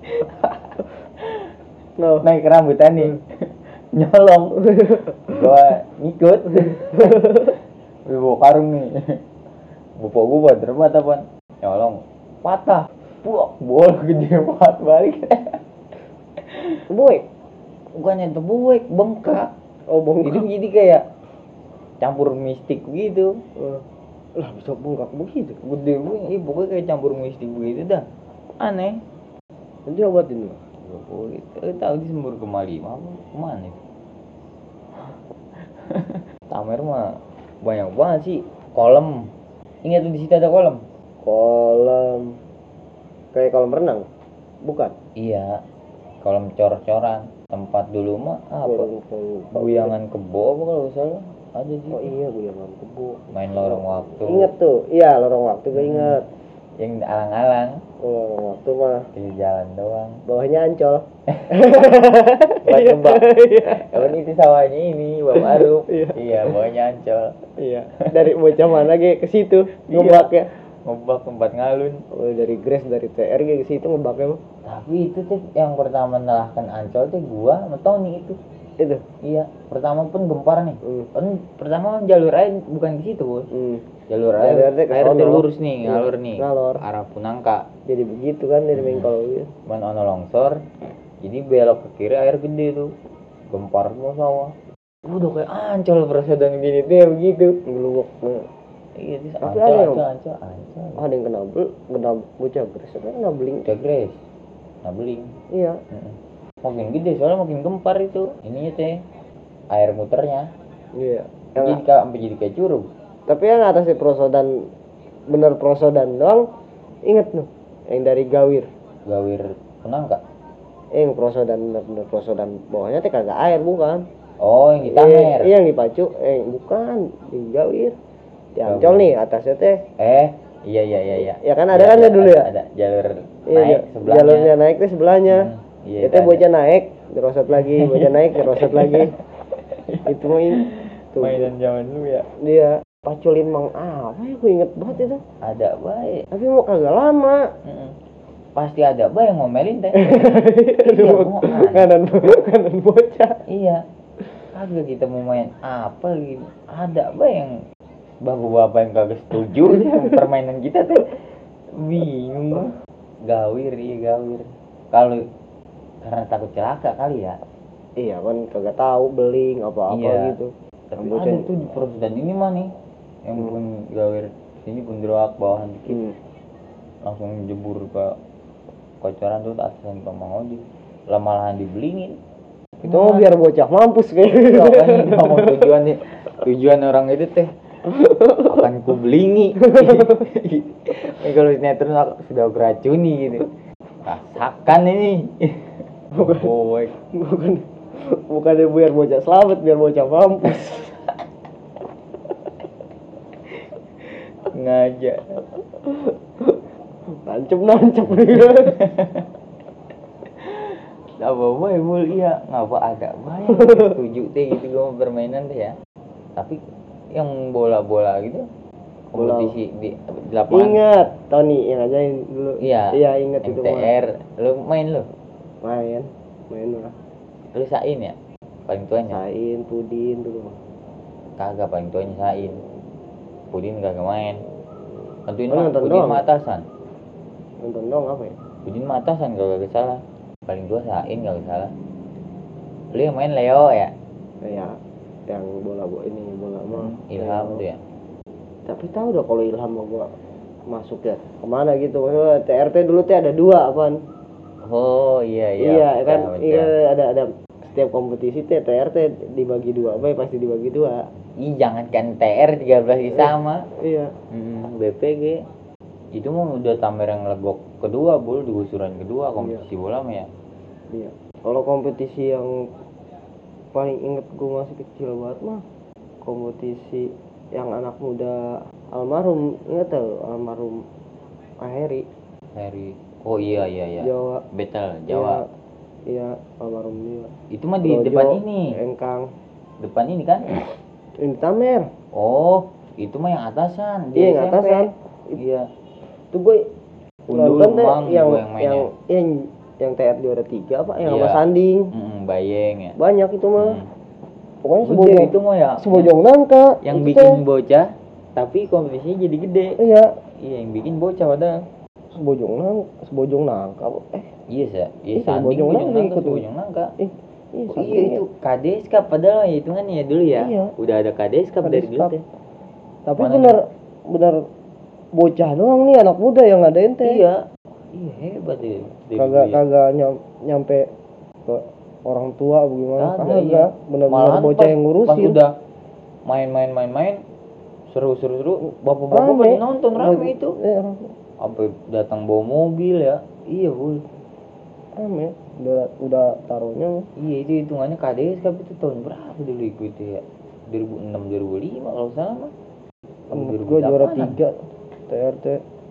Speaker 1: Naik rambutan nih. Nyolong. Gua ngikut. Bawa karung nih. Bapak gua buat termat apaan? Nyolong. Patah. Puak, bol gede banget balik.
Speaker 2: Buik.
Speaker 1: Bukannya buik, bengkak.
Speaker 2: Oh, bengkak.
Speaker 1: Itu jadi kayak campur mistik gitu.
Speaker 2: Lah bisa bengkak begitu.
Speaker 1: Gede banget, pokoknya kayak campur mistik begitu dah. Aneh.
Speaker 2: Nanti obatin lo.
Speaker 1: Tahu di Sumber Kemali, kemana itu? Tamer mah banyak banget sih. Kolam. Ingat tuh di situ ada kolam.
Speaker 2: Kolam. Kayak kolam renang. Bukan?
Speaker 1: Iya. Kolam cor-coran. Tempat dulu mah apa? Guyangan kebo apa kalau nggak salah? Ada sih.
Speaker 2: Oh iya, guyangan kebo.
Speaker 1: Main lorong waktu.
Speaker 2: Ingat tuh. Iya, lorong waktu gue ingat.
Speaker 1: Yang alang-alang.
Speaker 2: Lorong waktu mah.
Speaker 1: Di jalan doang.
Speaker 2: Bawahnya Ancol.
Speaker 1: Buat kebak. Kawan itu sawahnya ini, Bang Aruf. Iya, bawahnya Ancol.
Speaker 2: Iya. Dari bocah mana ge ke situ ngebak ya.
Speaker 1: Ngebak tempat ngalun.
Speaker 2: Oh, dari Grace dari TR ke situ ngebaknya mah.
Speaker 1: Tapi itu tuh yang pertama menalahkan Ancol tuh gua sama Tony itu.
Speaker 2: Itu.
Speaker 1: Iya, pertama pun gempar nih. Kan pertama jalur air bukan ke situ, Bos. Jalur air tuh lurus nih, ngalur nih.
Speaker 2: Ngalor.
Speaker 1: Arah Punangka.
Speaker 2: Jadi begitu kan dari Bengkol gitu.
Speaker 1: Cuman ono longsor. Jadi belok ke kiri air gede tuh. Gempar semua sawah. Udah kayak Ancol perasaan gini tuh ya begitu.
Speaker 2: Ngeluwak.
Speaker 1: Iya, itu Ancol.
Speaker 2: Ada yang kena bocah Grace apa kena beling.
Speaker 1: Bocah Grace. Nah beling.
Speaker 2: Iya.
Speaker 1: Makin gede soalnya makin gempar itu. Ininya teh air muternya.
Speaker 2: Iya.
Speaker 1: Jadi kayak curug.
Speaker 2: Tapi yang atasnya prosodan bener prosodan doang. Ingat tuh yang dari Gawir
Speaker 1: Punangka.
Speaker 2: Yang prosodan bener prosodan bawahnya teh kagak air bukan.
Speaker 1: Oh, yang di Tamer.
Speaker 2: Iya, yang di Pacu. Bukan, di Jawir. Di Ancol nih, atasnya teh.
Speaker 1: Iya.
Speaker 2: Ya kan ada kan ya dulu ya?
Speaker 1: Ada jalur
Speaker 2: Iya,
Speaker 1: naik sebelahnya.
Speaker 2: jalurnya naik tuh sebelahnya.
Speaker 1: Iya,
Speaker 2: Itu bocah naik, dirosot lagi, bocah naik, dirosot lagi. Itu main tuh.
Speaker 1: Mainan zaman dulu ya.
Speaker 2: Dia paculin Mang apa ya, gue inget banget itu.
Speaker 1: Ada baik.
Speaker 2: Tapi mau kagak lama.
Speaker 1: Pasti ada baik yang ngomelin teh.
Speaker 2: Kanan bocah.
Speaker 1: Iya. Kagak kita mau main apa gitu. Ada baik yang bapak-bapak yang kagak setuju sama permainan kita tuh. Bingung. Gawir. Kalau karena takut celaka kali ya.
Speaker 2: Iya kan kagak tahu beling apa-apa
Speaker 1: Iya.
Speaker 2: gitu.
Speaker 1: Tapi ada tuh di perusahaan ini mah nih yang pun gawir sini pun gerak bawahan dikit langsung jebur ke kocoran tuh atasan ke Mang Odi lah malahan dibelingin
Speaker 2: itu mau biar bocah mampus kayak
Speaker 1: kan mau tujuan orang itu teh akan ku belingi kalau sinetron sudah keracuni gitu rasakan ini
Speaker 2: bukan biar bocah selamat, biar bocah mampus.
Speaker 1: Ngajak
Speaker 2: nancep dia.
Speaker 1: Apa ibu iya ngapa ada banyak setuju teh gitu gue permainan teh ya. Tapi yang bola gitu kompetisi di lapangan.
Speaker 2: Ingat Tony yang ajain dulu.
Speaker 1: Iya
Speaker 2: ingat itu
Speaker 1: MTR lu main lu
Speaker 2: lah.
Speaker 1: Lu Sain ya paling tuanya.
Speaker 2: Sain Pudin dulu
Speaker 1: Kagak paling tuanya Sain. Pudin kagak main. Tentuin
Speaker 2: Pudin
Speaker 1: mah atasan.
Speaker 2: Nonton dong apa ya?
Speaker 1: Pudin mah atasan kagak salah. Paling tua Sain kagak salah. Lu yang main Leo ya?
Speaker 2: Iya, yang bola mah
Speaker 1: Ilham tuh ya.
Speaker 2: Tapi tahu dah kalau Ilham mah gua masuk ya kemana gitu. Maksudnya TRT dulu teh ada 2 apaan?
Speaker 1: Oh iya
Speaker 2: kan iya ada setiap kompetisi teh TRT dibagi 2 pasti dibagi 2.
Speaker 1: Ih jangan kan TR 13 sama.
Speaker 2: Iya.
Speaker 1: BPG itu mah udah Tamer yang legok kedua bol di gusuran kedua kompetisi bola mah ya.
Speaker 2: Iya. Kalau kompetisi yang paling inget gua masih kecil banget mah kompetisi yang anak muda almarhum, ingat tuh almarhum Heri.
Speaker 1: Oh iya.
Speaker 2: Jawa.
Speaker 1: Betel Jawa.
Speaker 2: Iya, almarhum dia.
Speaker 1: Itu mah di depan ini.
Speaker 2: Engkang.
Speaker 1: Depan ini kan?
Speaker 2: Ini Tamer.
Speaker 1: Oh, itu mah yang atasan.
Speaker 2: Iya, yang atasan.
Speaker 1: Iya.
Speaker 2: Itu gue nonton teh yang TR juara 3 apa yang sama Sanding.
Speaker 1: Bayeng ya.
Speaker 2: Banyak itu mah. Pokoknya
Speaker 1: sebojong itu mah ya.
Speaker 2: Sebojong nangka.
Speaker 1: Yang bikin bocah tapi kompetisinya jadi gede.
Speaker 2: Iya,
Speaker 1: yang bikin bocah padahal.
Speaker 2: Sebojong nangka.
Speaker 1: Iya Sanding sebojong nangka. Iya itu KDSK padahal ya hitungannya ya dulu ya.
Speaker 2: Iya.
Speaker 1: Udah ada KDSK dari dulu teh.
Speaker 2: Tapi benar bocah doang nih anak muda yang ngadain teh.
Speaker 1: Iya hebat ya.
Speaker 2: Kagak nyampe ke orang tua bagaimana? Kagak.
Speaker 1: Iya.
Speaker 2: Benar-benar bocah yang ngurusin.
Speaker 1: Pas udah main seru bapak-bapak pada nonton rame itu.
Speaker 2: Iya,
Speaker 1: sampai datang bawa mobil ya. Iya bul.
Speaker 2: Rame. Udah taruhnya.
Speaker 1: Iya itu hitungannya KDS tapi itu tahun berapa dulu ikut ya? 2006 2005 kalau salah mah.
Speaker 2: Gue juara 3 TRT.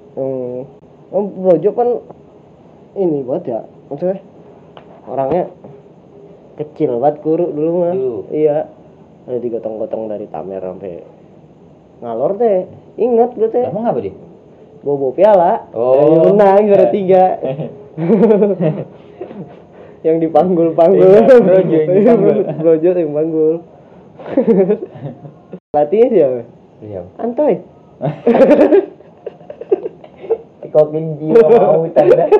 Speaker 2: Brojo kan ini buat ya, maksudnya orangnya kecil banget kuru dulu mah. Iya. Ada digotong-gotong dari Tamer sampai ngalor teh. Ingat gue teh.
Speaker 1: Emang apa dia?
Speaker 2: Bobo piala.
Speaker 1: Oh.
Speaker 2: Yang menang juara 3. Yang dipanggul-panggul. Brojo yang panggul. Pelatihnya siapa?
Speaker 1: Iya.
Speaker 2: Antoy.
Speaker 1: Kokin jiwa mau tanda.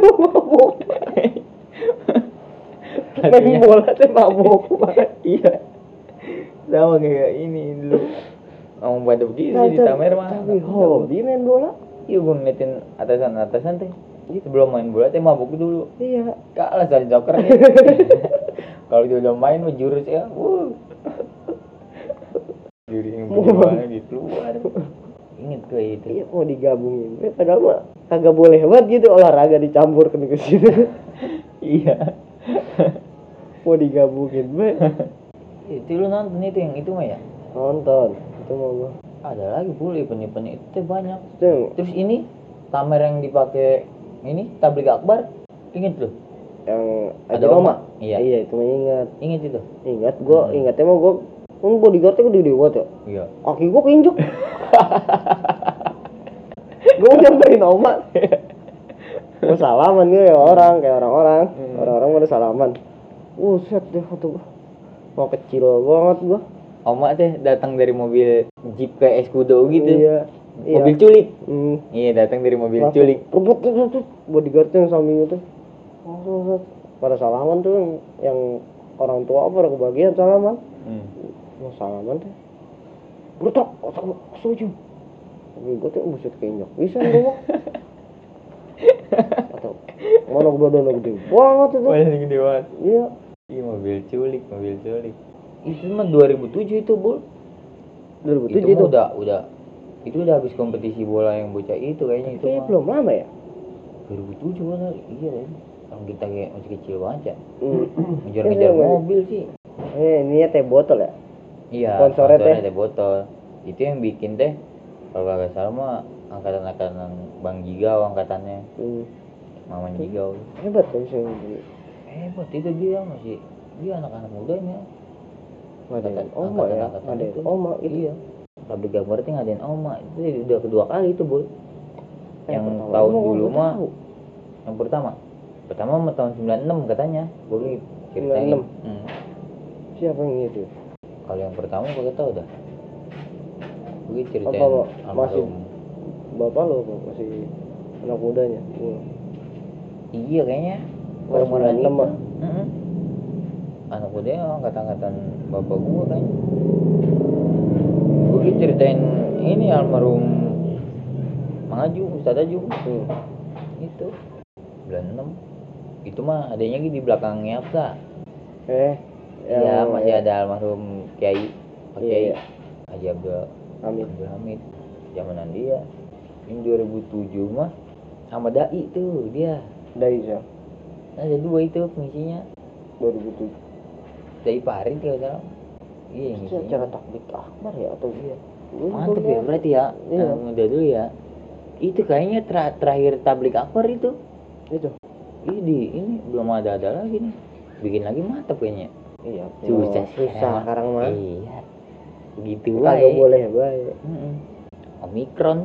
Speaker 2: Main bola teh mabuk.
Speaker 1: Iya. Sama kayak ini dulu. Ngomong pada begini di Tamer mah.
Speaker 2: Tapi hobi main bola.
Speaker 1: Iya gue ngeliatin atasan teh. Sebelum main bola teh mabuk dulu.
Speaker 2: Iya.
Speaker 1: Kalah sama joker nih. Kalau dia udah main mah jurus ya. Juri yang bola dikeluar. Ingat gue itu.
Speaker 2: Iya mau digabungin. Padahal mah kagak boleh banget gitu olahraga dicampur ke situ.
Speaker 1: Iya.
Speaker 2: Mau digabungin,
Speaker 1: Itu lu nonton itu yang itu mah ya?
Speaker 2: Nonton itu mau gua.
Speaker 1: Ada lagi pula event-event itu banyak.
Speaker 2: Itu yang,
Speaker 1: Terus ini tamer yang dipakai ini tabligh akbar, inget lu?
Speaker 2: yang
Speaker 1: Ada
Speaker 2: Haji
Speaker 1: Oma.
Speaker 2: Roma.
Speaker 1: Iya.
Speaker 2: Iya itu mah ingat.
Speaker 1: Inget itu?
Speaker 2: Ingat gua, ingatnya mah gua bodyguardnya gede banget ya.
Speaker 1: Iya.
Speaker 2: Kaki gua keinjek. Gua nyamperin Oma. Gua salaman gue ya orang kayak orang-orang. Orang-orang pada salaman. Set deh kata gua. Mau kecil banget gua.
Speaker 1: Oma teh datang dari mobil Jeep kayak Escudo gitu.
Speaker 2: Iya.
Speaker 1: Mobil culik.
Speaker 2: Hmm.
Speaker 1: Iya, datang dari mobil
Speaker 2: Langsung
Speaker 1: culik.
Speaker 2: Rebut bodyguardnya yang samping itu. Langsung pada salaman tuh yang orang tua pada kebagian salaman. Mau salaman teh. Brutak, otak setuju. Tapi gue tuh buset keinjak. Bisa gua. Atau mana badannya gede banget itu.
Speaker 1: Paling gede banget.
Speaker 2: Iya.
Speaker 1: Iya, mobil culik. Itu mah 2007 itu, Bul.
Speaker 2: 2007
Speaker 1: Itu
Speaker 2: itu.
Speaker 1: mah udah itu udah habis kompetisi bola yang bocah itu kayaknya itu
Speaker 2: Kayaknya
Speaker 1: mah.
Speaker 2: belum lama ya.
Speaker 1: 2007 kan. Iya kan. Orang kita kayak masih kecil banget ya.
Speaker 2: Iya,
Speaker 1: Ngejar-ngejar
Speaker 2: iya.
Speaker 1: mobil sih.
Speaker 2: Ini ya teh botol ya.
Speaker 1: Iya,
Speaker 2: Sponsornya
Speaker 1: teh botol. Itu yang bikin teh kalau kagak salah mah angkatan Bang Jigau angkatannya. Maman Jigau.
Speaker 2: Hebat kan sih.
Speaker 1: Hebat itu dia anak-anak mudanya.
Speaker 2: Ngadain Oma ya. Ngadain Oma itu.
Speaker 1: Iya. Tabligh akbar teh ngadain Oma. Itu udah kedua kali itu, Bul. Yang
Speaker 2: pertama
Speaker 1: tahun
Speaker 2: emang
Speaker 1: dulu
Speaker 2: gua
Speaker 1: mah
Speaker 2: tahu.
Speaker 1: yang pertama mah tahun 96 katanya. Boleh ceritain.
Speaker 2: 96. Siapa yang itu?
Speaker 1: Kalau yang pertama gua tahu dah. Gue ceritain
Speaker 2: Apa, masih
Speaker 1: almarhum.
Speaker 2: bapak lo apa? Masih anak mudanya?
Speaker 1: Iya kayaknya.
Speaker 2: Oh,
Speaker 1: Bareng-bareng
Speaker 2: 96
Speaker 1: itu.
Speaker 2: mah.
Speaker 1: Anak mudanya angkatan bapak gua kan. Gue ceritain ini almarhum Mang Aju, Ustadz Aju. Itu 96. Itu mah adanya di belakangnya apa? Iya, masih ada almarhum Kiai Pak Kiai
Speaker 2: Iya.
Speaker 1: Haji Abdul
Speaker 2: Hamid.
Speaker 1: zamanan dia. Ini 2007 mah sama dai tuh dia.
Speaker 2: Dai ya.
Speaker 1: Ada dua itu pengisinya.
Speaker 2: 2007.
Speaker 1: Dai Parin kalau salah. Iya, yang
Speaker 2: Itu
Speaker 1: ngisinya.
Speaker 2: acara takbir akbar ya atau iya?
Speaker 1: Mantep ya berarti ya.
Speaker 2: Iya.
Speaker 1: Udah dulu ya. Itu kayaknya terakhir tabligh akbar itu.
Speaker 2: Itu.
Speaker 1: Ini belum ada lagi nih. Bikin lagi mantep kayaknya.
Speaker 2: Iya.
Speaker 1: Susah
Speaker 2: sekarang mah.
Speaker 1: Iya. Begitu
Speaker 2: Kagak boleh baik.
Speaker 1: Omikron.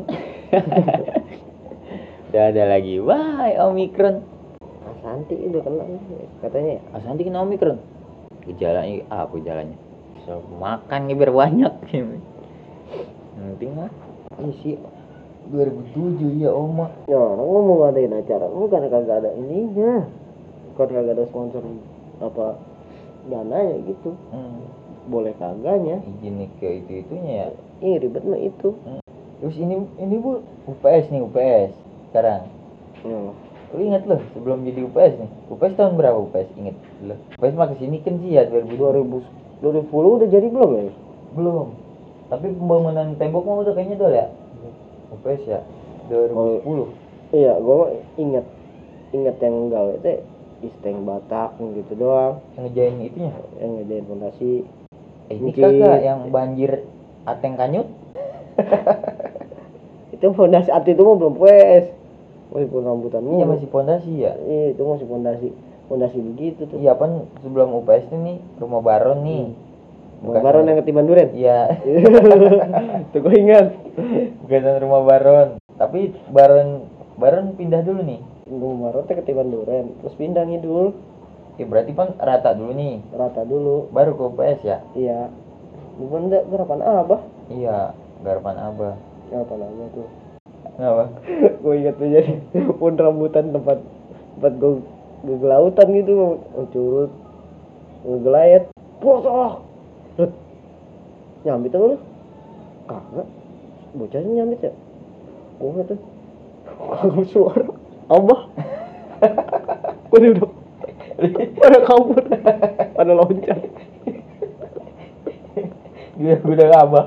Speaker 1: Udah ada lagi. Wah, Omikron.
Speaker 2: Santi udah kena katanya ya.
Speaker 1: Asanti kena Omikron. Gejalanya apa gejalanya? So, makan biar banyak. Penting lah. Isi 2007 ya Oma.
Speaker 2: Ya orang ngomong ngadain acara, bukan kagak ada ininya. Bukan kagak ada sponsor apa dananya gitu. Boleh kagaknya.
Speaker 1: Izin ke itunya ya.
Speaker 2: Ih ribet mah itu.
Speaker 1: Terus ini Bu, UPS sekarang. Lu inget loh sebelum jadi UPS nih. UPS tahun berapa UPS? Inget loh. UPS mah kesini kan sih ya 2010
Speaker 2: udah jadi belum ya?
Speaker 1: belum. Tapi pembangunan tembok mah udah kayaknya udah ya. UPS ya 2010.
Speaker 2: Iya, gua mah inget yang gawe teh isteng batak gitu doang.
Speaker 1: Yang ngejain itunya.
Speaker 2: Yang ngejain fondasi.
Speaker 1: Ini kakak yang banjir Ateng Kanyut.
Speaker 2: Itu fondasi arti itu mah belum PS. Masih pun rambutan
Speaker 1: Iya masih fondasi ya.
Speaker 2: Iya, itu masih fondasi begitu tuh.
Speaker 1: Iya kan sebelum UPS ini rumah Baron nih.
Speaker 2: Baron yang ketiban duren.
Speaker 1: Iya.
Speaker 2: Tuh gue ingat.
Speaker 1: Bukan rumah Baron. Tapi Baron pindah dulu nih.
Speaker 2: Rumah Baron teh ketiban duren, terus pindah ngidul.
Speaker 1: Ya berarti kan rata dulu nih.
Speaker 2: Rata dulu.
Speaker 1: Baru ke UPS ya.
Speaker 2: Iya. Bukan enggak garapan Abah.
Speaker 1: Iya, garapan Abah.
Speaker 2: Garapan Abah tuh.
Speaker 1: Kenapa?
Speaker 2: Gue ingat tuh jadi pun rambutan tempat gue gelautan gitu, curut, ngegelayet, bosok, nyambit apa lu? Kagak, bocahnya nyambit ya? Gue nggak tuh, kagak suara, Abah, udah, pada kabur, pada loncat,
Speaker 1: Dia udah Abah.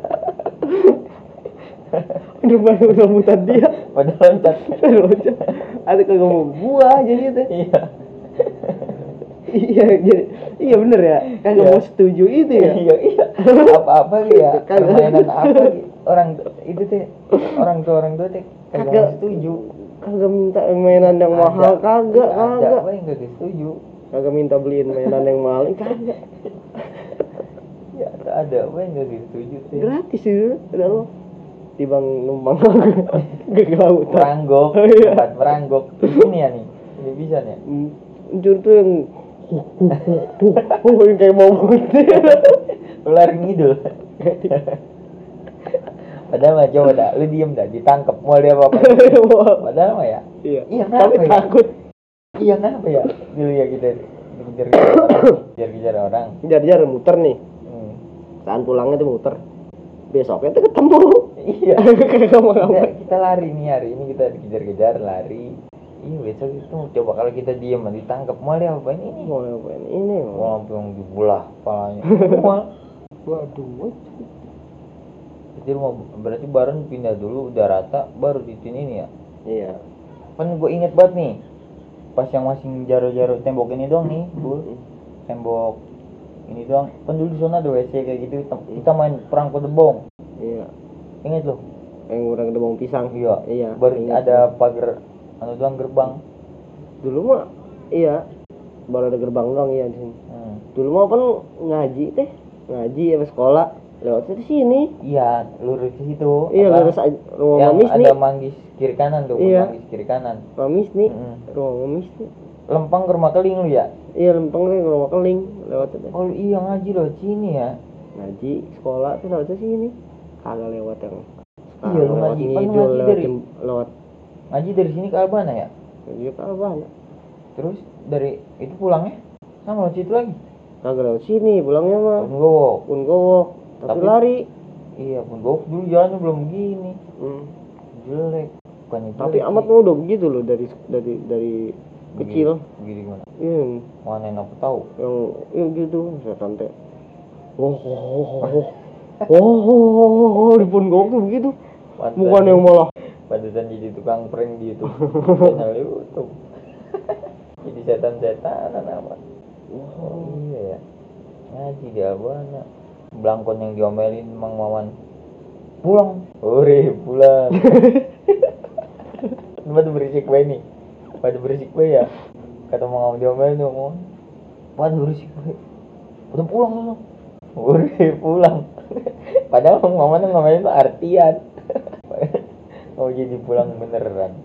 Speaker 2: udah pada rambutan dia,
Speaker 1: Pada loncat.
Speaker 2: loncat, ada kagak mau gua jadi itu.
Speaker 1: Iya.
Speaker 2: Iya bener ya. Kagak mau setuju itu ya.
Speaker 1: Iya. Apa ya? Permainan apa gitu. Orang itu teh orang tua teh kagak setuju.
Speaker 2: Kagak minta mainan yang mahal, kagak.
Speaker 1: Ada enggak setuju.
Speaker 2: Kagak minta beliin mainan yang mahal, kagak.
Speaker 1: Ya ada enggak setuju teh.
Speaker 2: Gratis itu udah lo. Tibang numpang gak laut.
Speaker 1: Meranggok, tempat meranggok. Ini ya nih. Ini bisa nih.
Speaker 2: Jujur tuh yang yang kayak mau putih.
Speaker 1: Ular ngidul. Padahal mah coba dah, lu diem dah, ditangkap mau dia apa? Padahal mah ya.
Speaker 2: Iya.
Speaker 1: Tapi
Speaker 2: Ya? Takut.
Speaker 1: Iya kenapa ya? Dulu ya kita dikejar orang.
Speaker 2: Kejar muter nih. Saat pulangnya tuh muter. Besoknya tuh ketemu.
Speaker 1: Iya. Kita lari nih hari ini kita dikejar-kejar lari. Iya besok itu coba kalau kita diem ditangkap mau dia apain ini?
Speaker 2: Mau ngapain ini?
Speaker 1: Mau langsung dibelah kepalanya.
Speaker 2: Waduh.
Speaker 1: Jadi berarti bareng pindah dulu udah rata baru ditin ini ya.
Speaker 2: Iya.
Speaker 1: Kan gue inget banget nih. Pas yang masih jaro-jaro tembok ini doang nih, Bu. Tembok ini doang. Kan dulu di sana ada WC kayak gitu. Kita main perang kedebong.
Speaker 2: Iya.
Speaker 1: Ingat lo?
Speaker 2: Yang kurang kedebong pisang.
Speaker 1: Iya. Baru ada pagar doang gerbang.
Speaker 2: Dulu mah iya. Baru ada gerbang doang iya di sini. Dulu mah kan ngaji ya sekolah. Lewatnya di sini.
Speaker 1: Iya, lurus ke situ.
Speaker 2: Iya, lurus rumah Mamis nih.
Speaker 1: Ada manggis kiri kanan tuh, manggis kiri kanan.
Speaker 2: Mamis nih. Rumah Mamis nih.
Speaker 1: Lempang ke rumah Keling lu ya?
Speaker 2: Iya, Lempang ke rumah Keling lewatnya.
Speaker 1: Oh iya ngaji loh sini ya.
Speaker 2: Ngaji sekolah tuh lewatnya sini. Kagak lewat yang
Speaker 1: iya, lu ngaji
Speaker 2: lewat
Speaker 1: ngaji dari sini ke Albana ya?
Speaker 2: Ngaji ke Albana.
Speaker 1: Terus dari itu pulangnya sama lewat situ lagi?
Speaker 2: Kagak lewat sini, pulangnya mah Punggowok. Tapi lari.
Speaker 1: Iya, Punggowok dulu jalannya belum begini. Jelek. Bukannya jelek.
Speaker 2: Tapi amat mah udah begitu loh dari kecil.
Speaker 1: Begini gimana?
Speaker 2: Iya.
Speaker 1: Mana yang aku tahu?
Speaker 2: Yang gitu, setan teh. Di Punggowok tuh begitu. Bukan yang malah
Speaker 1: Pantesan jadi tukang prank di YouTube. Channel YouTube. Jadi setan-setanan apa? Oh iya ya. Ngaji di Albana. Blangkon yang diomelin Mang Maman. Pulang. Pulang. Pada berisik bae nih. Pada berisik bae ya. Kata Mang Maman diomelin tuh. Pada berisik bae. Udah pulang lu. Pulang. Padahal Mang Maman ngomelin tuh artian. Oh jadi pulang beneran.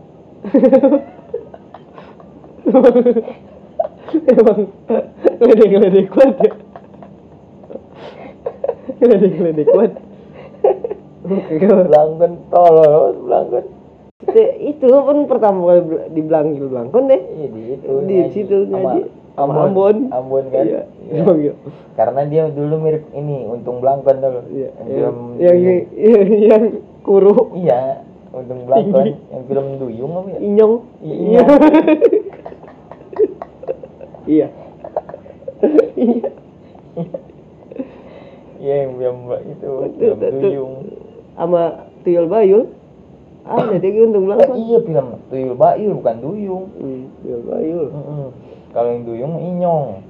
Speaker 2: Emang ledek kuat ya. Ledek kuat.
Speaker 1: Blangkon tolol, blangkon.
Speaker 2: Itu pun pertama kali dibilanggil blangkon deh.
Speaker 1: Iya
Speaker 2: di situ ngaji sama Ambon
Speaker 1: kan.
Speaker 2: Iya.
Speaker 1: Karena dia dulu mirip ini Untung Blangkon dulu.
Speaker 2: Iya. Yang kuru.
Speaker 1: Iya, Untung Blangkon yang film Duyung apa ya?
Speaker 2: Inyong. Iya. Iya.
Speaker 1: Iya yang itu film Duyung
Speaker 2: sama Tuyul Bayul. Ada dia Untung Blangkon.
Speaker 1: Iya film Tuyul Bayul bukan Duyung.
Speaker 2: Tuyul Bayul.
Speaker 1: Kalau yang Duyung Inyong.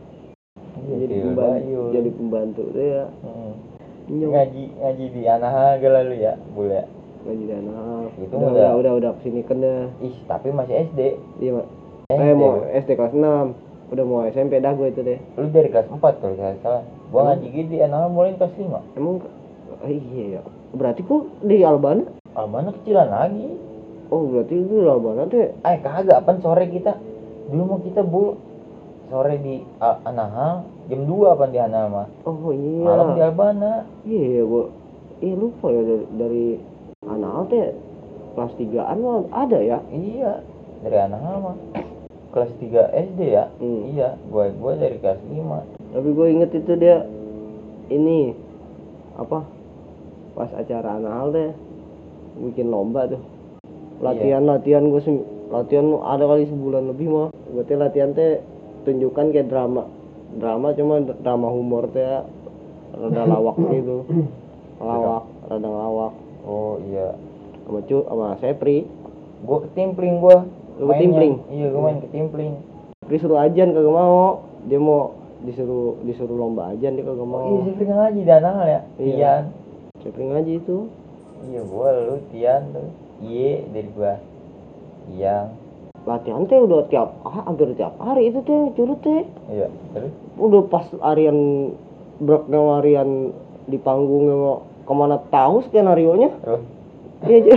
Speaker 2: Jadi pembantu tuh ya.
Speaker 1: Ngaji di Anaha lalu ya, boleh.
Speaker 2: Ngaji di Anaha.
Speaker 1: Itu
Speaker 2: udah kesini kan dah.
Speaker 1: Tapi masih SD.
Speaker 2: Iya, Mak. Mau SD kelas 6. Udah mau SMP dah gue itu deh.
Speaker 1: Lu dari kelas 4 kalau saya salah. Gua ngaji di Anaha mulai kelas 5.
Speaker 2: Emang iya ya. Berarti kok di Albana?
Speaker 1: Albana kecilan lagi.
Speaker 2: Oh, berarti itu di Albana tuh.
Speaker 1: Kagak, apaan sore kita. Dulu mau kita sore di Anaha, jam 2 apaan di Anaha mah.
Speaker 2: Oh iya.
Speaker 1: Malam di Albana.
Speaker 2: Iya, gua lupa ya dari Anaha teh kelas 3-an mah ada ya.
Speaker 1: Iya, dari Anaha mah. Kelas 3 SD ya. Iya, gua dari kelas 5.
Speaker 2: Tapi gue inget itu dia ini apa? Pas acara Anahal teh bikin lomba tuh. Latihan gue latihan ada kali sebulan lebih mah. Berarti latihan teh tunjukkan kayak drama cuma drama humor teh ya. Rada lawak gitu. Rada ngelawak.
Speaker 1: Oh iya.
Speaker 2: Sama Sepri.
Speaker 1: Gua ketimpling gua.
Speaker 2: Lu ketimpling?
Speaker 1: Iya, gua main ketimpling.
Speaker 2: Sepri suruh ajan kagak mau. dia mau disuruh lomba aja dia kagak mau.
Speaker 1: Oh iya, Sifri ngaji dan hal ya.
Speaker 2: Iya.
Speaker 1: Tian.
Speaker 2: Sifri ngaji itu.
Speaker 1: Iya, gua lu Tian tuh. Iye dari gua. Yang
Speaker 2: Latihan teh udah hampir tiap hari itu teh curut teh.
Speaker 1: iya, terus
Speaker 2: Udah pas harian breaknya harian di panggungnya mau kemana tahu skenario nya.
Speaker 1: terus
Speaker 2: Iya.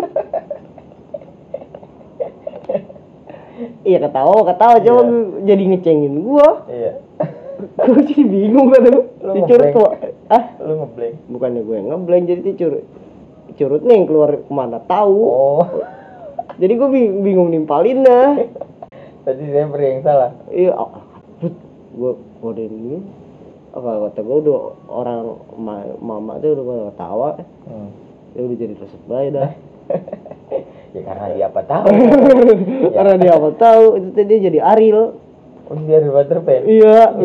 Speaker 2: Iya ketawa coba
Speaker 1: Iya.
Speaker 2: jadi ngecengin gua.
Speaker 1: iya.
Speaker 2: Gua jadi bingung kan
Speaker 1: Lu
Speaker 2: dicurut
Speaker 1: ngeblank.
Speaker 2: kok.
Speaker 1: Lu ngeblank.
Speaker 2: Bukannya gue yang ngeblank jadi curut nih yang keluar kemana tahu.
Speaker 1: Oh.
Speaker 2: Jadi gue bingung nimpalinnya.
Speaker 1: Tadi saya yang salah.
Speaker 2: Iya, gue kodein ini. Apa kata gue udah orang mama tuh udah pada ketawa. Ya udah jadi resep baik dah.
Speaker 1: Ya karena dia apa tahu.
Speaker 2: Karena dia apa tahu itu tadi jadi Ariel.
Speaker 1: Oh, dia di Waterpen.
Speaker 2: Iya.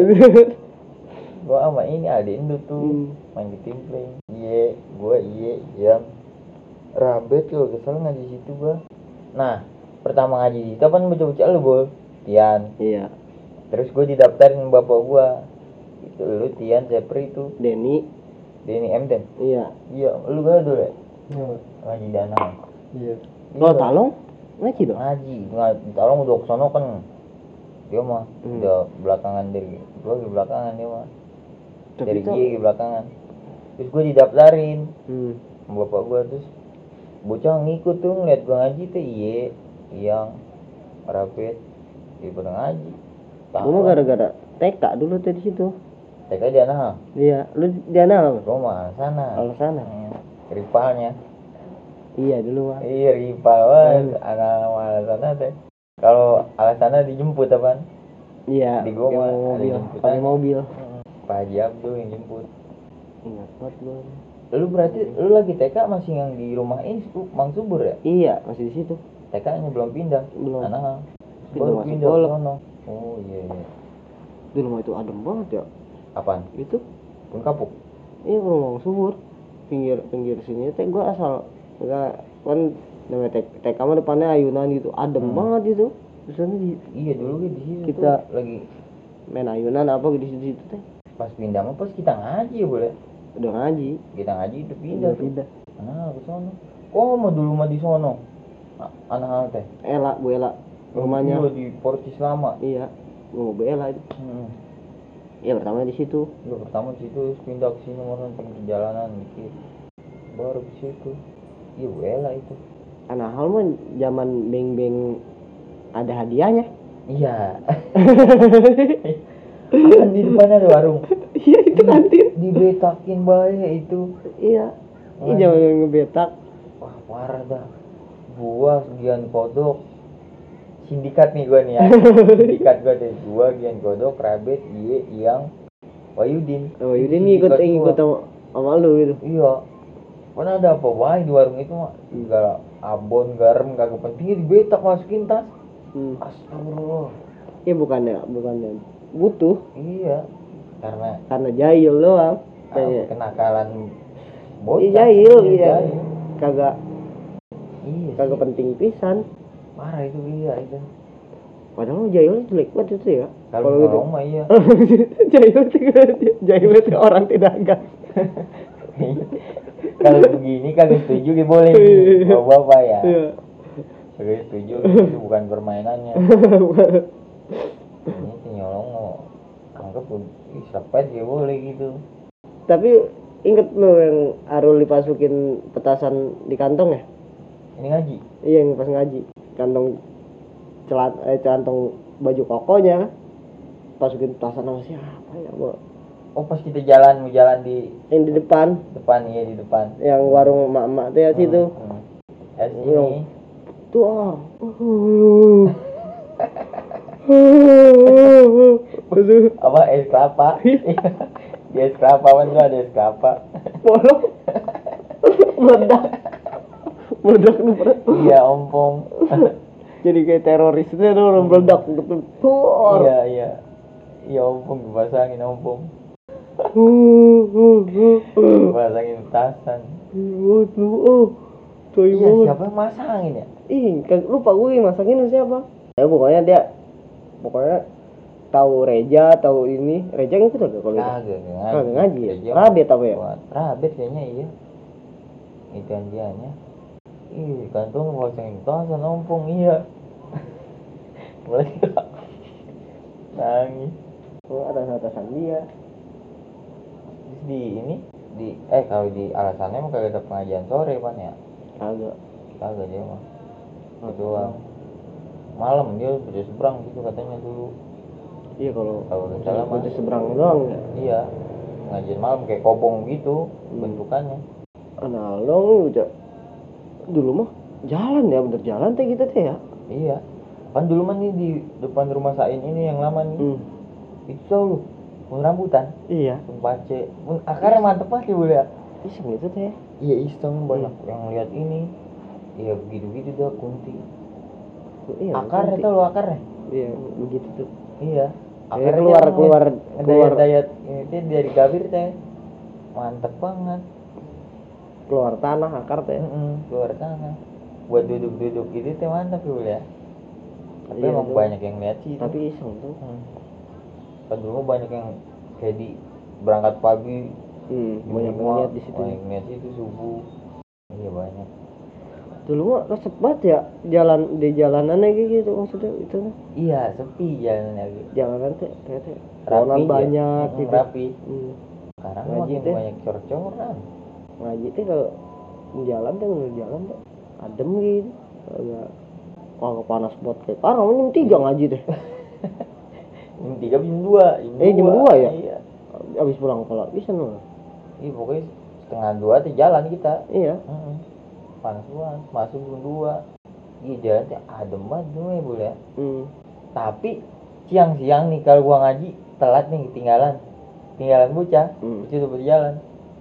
Speaker 1: Gua sama ini Aldindo tuh main di tim play. Iya, gua yang Rabet kalau kesel ngaji situ gua. Nah, pertama ngaji situ kan bocah-bocah lu, Bol. Tian.
Speaker 2: Iya.
Speaker 1: Terus gua didaftarin bapak gua. Itu lu Tian, Sepri itu.
Speaker 2: Denny.
Speaker 1: Emden.
Speaker 2: Iya.
Speaker 1: Iya, lu gak dulu ya?
Speaker 3: Iya.
Speaker 1: Ngaji danau.
Speaker 3: Iya.
Speaker 2: Kalau talong ngaji dong.
Speaker 1: Ngaji, tolong udah kesono kan. Dia mah udah belakangan dari gua di belakangan dia mah. Dari
Speaker 2: Tapi
Speaker 1: G di belakangan. Terus gua didaftarin.
Speaker 2: Hmm.
Speaker 1: Bapak gua terus bocah ngikut tuh ngeliat gua ngaji tuh yang rapid dia pada ngaji.
Speaker 2: Gua mah gara-gara TK dulu tuh di situ.
Speaker 1: TK dia nah.
Speaker 2: Iya, lu di mana apa?
Speaker 1: Gua mah sana.
Speaker 2: Kalau sana.
Speaker 1: Rivalnya.
Speaker 2: Iya dulu mah.
Speaker 1: Iya rival anak alasannya teh. Kalau alasannya dijemput apaan?
Speaker 2: Iya.
Speaker 1: Di gua mah ada
Speaker 2: mobil,
Speaker 1: jemputan.
Speaker 2: pakai mobil.
Speaker 1: Pak Haji Abdul yang jemput.
Speaker 2: Ingat banget gua.
Speaker 1: Lu berarti lu lagi TK masih yang di rumah ini Mang Subur ya?
Speaker 2: Iya, masih di situ.
Speaker 1: TK-nya belum pindah.
Speaker 2: Belum.
Speaker 1: Anak
Speaker 2: Pindah
Speaker 1: baru
Speaker 2: masuk
Speaker 1: pindah
Speaker 2: Golok.
Speaker 1: ke sono. Oh iya.
Speaker 2: Dulu mah itu adem banget ya.
Speaker 1: Apaan?
Speaker 2: Itu
Speaker 1: Pun kapuk.
Speaker 2: iya rumah subur. Pinggir sini teh gua asal enggak kan namanya TK mah depannya ayunan gitu. Adem banget itu. Di sana
Speaker 1: Iya dulu di situ
Speaker 2: Kita-
Speaker 1: tuh lagi
Speaker 2: main ayunan apa di situ teh.
Speaker 1: pas pindah mah pas kita ngaji ya boleh.
Speaker 2: Udah ngaji.
Speaker 1: Kita ngaji udah pindah.
Speaker 2: Udah
Speaker 1: tuh.
Speaker 2: pindah.
Speaker 1: Nah, ke sono. Kok mah dulu mah di sono? Anak hal teh.
Speaker 2: Bu Ela rumahnya.
Speaker 1: Dulu di Portis lama.
Speaker 2: Iya. Gua mau Bu Ela itu. Iya pertama di situ.
Speaker 1: Ya pertama di situ terus pindah ke sini mau nonton perjalanan dikit. Baru ke situ. Iya Bu Ella itu.
Speaker 2: Karena hal mah zaman beng-beng ada hadiahnya.
Speaker 1: Iya. Kan di depannya ada warung.
Speaker 2: Iya itu kantin.
Speaker 1: Dibetakin bae itu.
Speaker 2: Iya. Ini
Speaker 1: Wah.
Speaker 2: zaman ngebetak.
Speaker 1: Wah parah dah. Gua Gian Kodok. Sindikat nih gua nih ya. Sindikat gua deh. Gua Gian Kodok, Rabet, yang Wayudin.
Speaker 2: Oh, Yudin ngikut sama lu gitu.
Speaker 1: Iya. Kan ada apa wae di warung itu mah. Segala abon, garam kagak pentingnya dibetak masukin tas. Astagfirullah.
Speaker 2: Iya bukannya butuh
Speaker 1: Iya.
Speaker 2: karena jahil doang.
Speaker 1: Kenakalan bocah.
Speaker 2: Iya jahil, iya.
Speaker 1: jahil.
Speaker 2: Kagak
Speaker 1: Iya.
Speaker 2: penting pisan.
Speaker 1: Parah itu iya itu.
Speaker 2: Padahal jahil jelek banget itu ya.
Speaker 1: Kalau
Speaker 2: gitu.
Speaker 1: ngomong mah iya.
Speaker 2: jahil itu orang tidak agak.
Speaker 1: Kalau begini kagak setuju ya boleh. Bawa bapak ya.
Speaker 2: Iya.
Speaker 1: Kagak setuju itu bukan permainannya. Ini si nyolong mau anggap sepet ya boleh gitu.
Speaker 2: Tapi inget lo yang Arul dipasukin petasan di kantong ya?
Speaker 1: Ini ngaji.
Speaker 2: Iya yang pas ngaji kantong celantong baju kokonya kan masukin petasan sama siapa ya Bu?
Speaker 1: Oh pas kita mau jalan di
Speaker 2: Yang di depan
Speaker 1: iya di depan.
Speaker 2: yang warung emak-emak tuh ya situ.
Speaker 1: Ya sini.
Speaker 2: Tuh
Speaker 1: Apa es kelapa? Di es kelapa kan tuh ada es kelapa.
Speaker 2: bolong meledak lu perut.
Speaker 1: Iya ompong.
Speaker 2: Jadi kayak teroris itu orang meledak gitu.
Speaker 1: Iya ompong dipasangin ompong. Dipasangin tasan.
Speaker 2: Coy
Speaker 1: Iya
Speaker 2: banget.
Speaker 1: siapa yang masangin ya?
Speaker 2: Lupa gue yang masangin siapa. Ya pokoknya tahu Reja, tahu ini. Reja ngikut agak kalau itu?
Speaker 1: Kagak
Speaker 2: ngaji ya?
Speaker 1: Reja
Speaker 2: Rabet apa ya?
Speaker 1: Rabet kayaknya iya. Itu anjiannya. Ih, kantong pasang tas nompong iya. Mulai nangis.
Speaker 2: Oh, atasan dia.
Speaker 1: Terus kalau di alasannya mah kagak ada pengajian sore pan ya? Kagak dia mah. Itu malam dia udah seberang gitu katanya dulu.
Speaker 2: Iya kalau
Speaker 1: nggak salah mah.
Speaker 2: udah seberang doang ya.
Speaker 1: Iya. Pengajian malam kayak kobong gitu bentukannya.
Speaker 2: Nah, lo udah dulu mah jalan ya, bener jalan teh gitu teh ya.
Speaker 1: Iya. Kan dulu mah nih di depan rumah Sain ini yang lama nih. Itu tau lu, mun rambutan.
Speaker 2: Iya.
Speaker 1: Mun pace, mun akarnya mantep banget ya boleh ya.
Speaker 2: Iseng itu teh.
Speaker 1: Iya iseng banyak yang lihat ini. Iya begitu-gitu dah kunti.
Speaker 2: Iya,
Speaker 1: akarnya tau lu akarnya?
Speaker 2: Iya, begitu tuh.
Speaker 1: Iya.
Speaker 2: Akarnya keluar
Speaker 1: dayat ini teh dari gabir teh. Mantep banget.
Speaker 2: Keluar tanah akar teh.
Speaker 1: Keluar tanah. Buat duduk-duduk gitu teh mantap ya boleh ya. Tapi
Speaker 2: Iya,
Speaker 1: emang
Speaker 2: tuh.
Speaker 1: banyak yang lihat sih.
Speaker 2: Tapi iseng tuh.
Speaker 1: Kan dulu banyak yang kayak di berangkat pagi.
Speaker 2: Banyak yang lihat di situ.
Speaker 1: Banyak lihat situ subuh. Iya banyak.
Speaker 2: Dulu mah resep banget ya jalan di jalanannya kayak gitu maksudnya itu.
Speaker 1: Iya sepi jalannya gitu.
Speaker 2: Jalanan teh kayak teh
Speaker 1: Rapi
Speaker 2: banyak gitu.
Speaker 1: Rapi. Sekarang
Speaker 2: Ngaji
Speaker 1: makin
Speaker 2: teh.
Speaker 1: banyak cor-coran.
Speaker 2: Ngaji teh kalau jalan teh adem gitu. Agak panas buat kayak sekarang jam 3 ngaji teh.
Speaker 1: Jam 3 jam 2.
Speaker 2: Jam 2 ya?
Speaker 1: Iya.
Speaker 2: Habis pulang sekolah bisa no.
Speaker 1: Iya pokoknya setengah 2 tuh jalan kita.
Speaker 2: Iya.
Speaker 1: Panas banget, masuk jam 2. Iya jalannya adem banget tuh ya boleh ya. Tapi siang-siang nih kalau gua ngaji telat nih tinggalan bocah, bocah udah berjalan.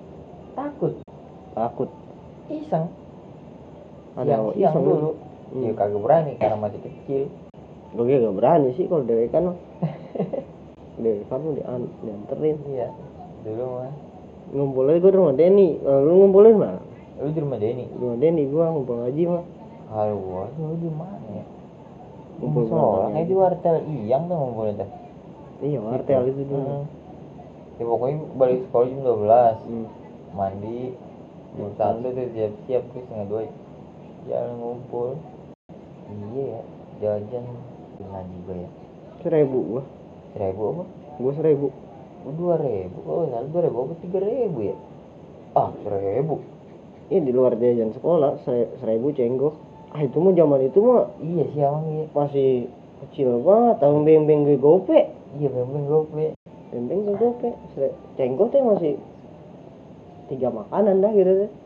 Speaker 1: Takut. Iseng. Siang dulu. Ya kagak berani karena masih kecil.
Speaker 2: Gue gak berani sih kalau dewekan. Dewekan lu dianterin.
Speaker 1: Iya. Dulu mah.
Speaker 2: Ngumpulnya gue di rumah Denny. Lu ngumpulnya mana?
Speaker 1: Lu di rumah Denny?
Speaker 2: Di rumah Denny gue ngumpul ngaji mah.
Speaker 1: Kalau gua lu di mana ya?
Speaker 2: Ngumpul
Speaker 1: kayak di wartel Iyang tuh ngumpulnya tuh.
Speaker 2: Iya wartel itu dulu.
Speaker 1: Ya pokoknya balik sekolah jam 12. Mandi. Jam 1 tuh siap-siap terus setengah 2 jalan ngumpul. Iya ya, jajan ngaji gue ya.
Speaker 2: 1.000 gua.
Speaker 1: 1.000 apa?
Speaker 2: Gua 1.000.
Speaker 1: 2.000. Oh, salah 2.000 apa 3.000 ya? 1.000.
Speaker 2: Iya di luar jajan sekolah 1.000 cenggok. Itu mah zaman itu mah
Speaker 1: iya sih emang iya.
Speaker 2: Masih kecil banget, tahun beng-beng gue gope.
Speaker 1: Iya beng-beng gope.
Speaker 2: Beng-beng gue gope. Cenggok teh masih 3 makanan dah gitu teh.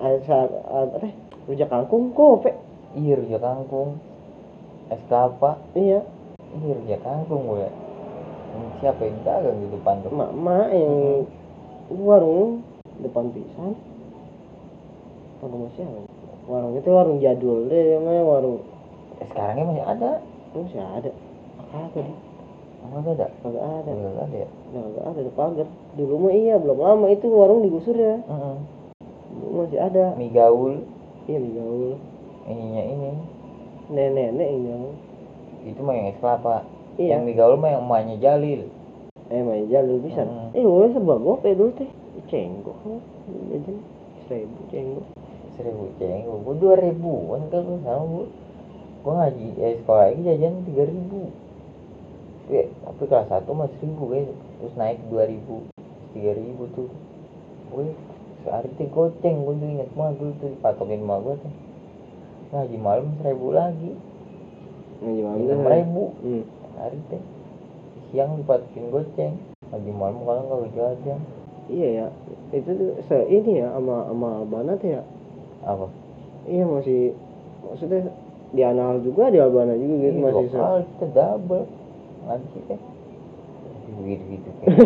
Speaker 2: Rujak kangkung gope.
Speaker 1: Iya rujak kangkung. Es kelapa.
Speaker 2: Iya.
Speaker 1: Iya rujak kangkung gue. Siapa yang dagang di depan tuh?
Speaker 2: Mak yang warung depan pisan. Warung siapa? Warung itu warung jadul deh namanya warung.
Speaker 1: Sekarangnya masih ada.
Speaker 2: Masih ada. Kagak deh.
Speaker 1: Enggak ada.
Speaker 2: Kagak ada.
Speaker 1: Enggak ada ya.
Speaker 2: Enggak ada di pagar. Dulu mah iya belum lama itu warung digusur ya. Dulu masih ada.
Speaker 1: Mie gaul.
Speaker 2: Iya mie gaul.
Speaker 1: Ininya ini.
Speaker 2: Nenek ini.
Speaker 1: Itu mah yang es kelapa.
Speaker 2: Iya.
Speaker 1: Yang mie gaul mah yang emaknya Jalil.
Speaker 2: Emaknya Jalil bisa. Gue serba gope dulu teh. Cenggok jajan 1.000 cenggok.
Speaker 1: 1.000 cenggok. Gue 2.000-an kan lu sama gue. Gue ngaji sekolah lagi jajan 3.000. Tapi kelas 1 mah 1.000 guys. Terus naik 2.000, 3.000 tuh. Gue sehari tuh goceng, gue tuh inget banget dulu tuh dipatokin sama gue tuh. Ngaji malam 1.000 lagi.
Speaker 2: Ngaji malam
Speaker 1: 6.000. Hari tuh. Siang dipatokin goceng. Ngaji malam kalau nggak jajan.
Speaker 2: Iya ya, itu tuh ini ya sama Banat ya.
Speaker 1: Apa?
Speaker 2: Iya masih maksudnya di Anal juga di Albana juga gitu masih
Speaker 1: lokal kita double ngaji teh. Begitu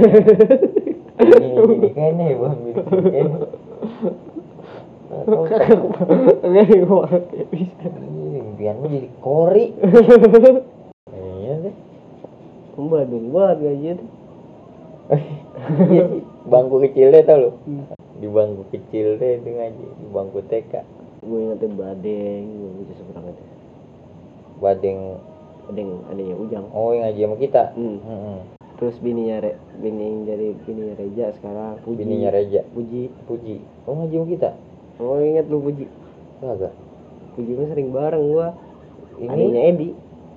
Speaker 1: ini kayaknya ya bang gitu kayaknya.
Speaker 2: Enggak gua bisa.
Speaker 1: Impianmu jadi kori. Iya deh.
Speaker 2: Badung banget gaji tuh.
Speaker 1: Iya sih, bangku kecil deh tau lo. Di bangku kecil deh itu ngaji di bangku TK.
Speaker 2: Gue ingetnya Badeng, gue bisa seberang itu.
Speaker 1: Badeng
Speaker 2: adanya Ujang.
Speaker 1: Oh, yang ngaji sama kita.
Speaker 2: Terus bininya Reja sekarang Puji.
Speaker 1: Bininya Reja.
Speaker 2: Puji.
Speaker 1: Oh, ngaji sama kita.
Speaker 2: Oh, ingat lu Puji?
Speaker 1: Kagak.
Speaker 2: Puji mah sering bareng gua.
Speaker 1: Ini
Speaker 2: Adanya Edi.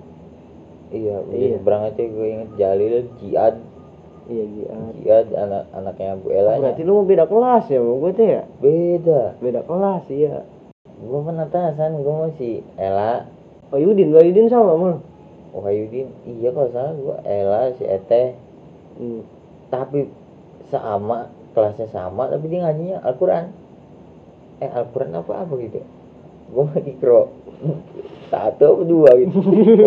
Speaker 1: Iya. Seberang aja gue inget Jalil, Jiad.
Speaker 2: Iya,
Speaker 1: Jiad anaknya Bu Ella.
Speaker 2: Berarti lu mau beda kelas ya sama gue tuh ya? Beda kelas, iya.
Speaker 1: Gue penatasan, gue mau si Ella.
Speaker 2: Wahidin sama mah.
Speaker 1: Wahidin, iya kalau salah gue Ella, si Ete. Tapi sama, kelasnya sama, tapi dia ngajinya Al-Quran. Al-Quran apa gitu. Gue mau ikro 1 atau 2 gitu.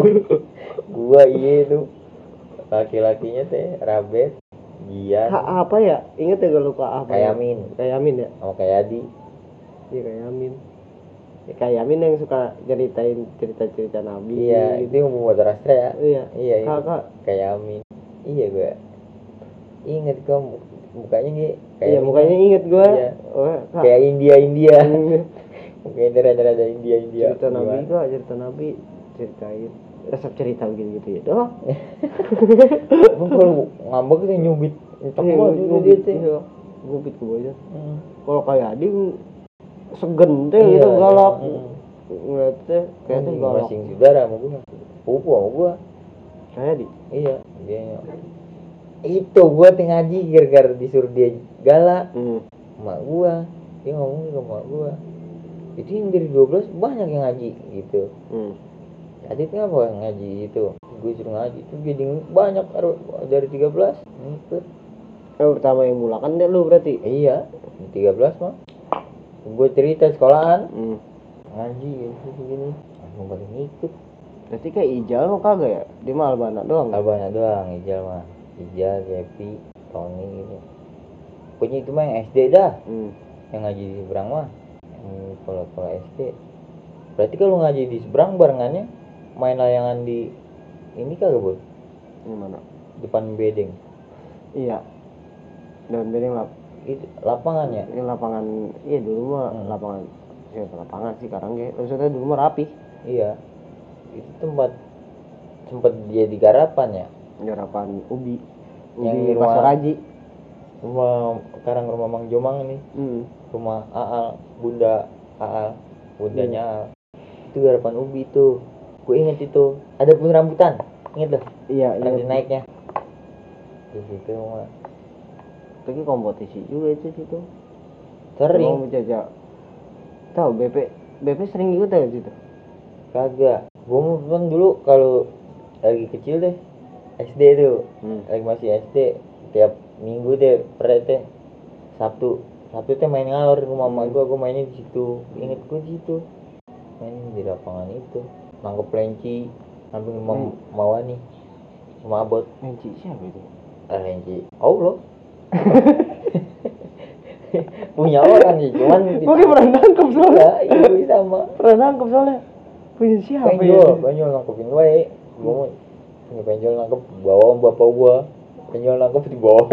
Speaker 1: Gua iya itu laki-lakinya teh Rabet, Gian.
Speaker 2: Apa ya? Ingat ya gue lupa apa.
Speaker 1: Kayamin
Speaker 2: ya?
Speaker 1: sama Kayadi.
Speaker 2: Iya, Kayamin. Kayamin yang suka ceritain cerita Nabi.
Speaker 1: Iya,
Speaker 2: gitu.
Speaker 1: itu yang membuat Rastra ya. Iya
Speaker 2: Kakak.
Speaker 1: Kayamin. Iya gue inget kok mukanya gitu.
Speaker 2: Iya, mukanya inget gue.
Speaker 1: Iya. Kayak India. Mukanya rada India.
Speaker 2: Cerita Nabi ceritain resep cerita gitu ya doh.
Speaker 1: Emang kalau ngambek tuh nyubit
Speaker 2: nyubit ke bawah. Kalau kayak Adi segen teh gitu galak. Ngeliatnya kayaknya galak.
Speaker 1: Masing saudara sama gua. Pupu sama gua.
Speaker 2: Kayak Adi.
Speaker 1: Iya, dia. Itu gua ngaji gara-gara disuruh dia galak. Mak gua, dia ngomong ke mak gua. Itu yang dari 12 banyak yang ngaji gitu. Jadi kenapa ngaji itu? Gue suruh ngaji itu jadi banyak dari 13 ikut.
Speaker 2: Pertama yang mulakan deh lu berarti?
Speaker 1: Iya, 13 mah. Gue cerita sekolahan. Ngaji gitu begini. Aku pada ngikut.
Speaker 2: Berarti kayak Ijal mah kagak ya? Dia mah Albana doang.
Speaker 1: Ijal mah. Ijal, Jepi, Tony gitu. Pokoknya itu mah yang SD dah. Yang ngaji di seberang mah. Kalau SD. Berarti kalau ngaji di seberang barengannya main layangan di ini kagak, Bos?
Speaker 2: Di mana?
Speaker 1: Depan bedeng.
Speaker 2: Iya. Depan bedeng
Speaker 1: itu lapangannya.
Speaker 2: Ini lapangan. Iya dulu mah lapangan. Lapangan sih sekarang ya. Maksudnya dulu mah rapi. Iya.
Speaker 1: Itu tempat sempat jadi garapan ya.
Speaker 2: Garapan ubi
Speaker 1: Yang di
Speaker 2: Pasar Haji.
Speaker 1: Sekarang rumah Mang Jomang nih. Rumah Aal, bundanya Aal. Itu garapan ubi tuh. Gue inget itu, ada pun rambutan, inget loh?
Speaker 2: Iya,
Speaker 1: nanti naiknya. Di situ mah.
Speaker 2: Tapi kompetisi juga itu situ.
Speaker 1: Sering.
Speaker 2: Mau menjajah. Tahu BP sering ikut ya situ?
Speaker 1: Kagak. Gue kan dulu kalau lagi kecil deh, SD tuh, lagi masih SD, tiap minggu deh, teh Sabtu teh main ngalor rumah mama gue mainnya di situ. Inget gue di situ. Main di lapangan itu. Nangkep lenci samping Mawani sama Abot.
Speaker 2: Lenci siapa itu?
Speaker 1: Lenci Allah. Punya orang sih, cuman
Speaker 2: mungkin pernah nangkep soalnya.
Speaker 1: Iya, sama
Speaker 2: pernah nangkep soalnya. Punya siapa
Speaker 1: penjol nangkepin wae. Gua punya penjol nangkep bawa bapak gua. Penjol nangkep di bawah.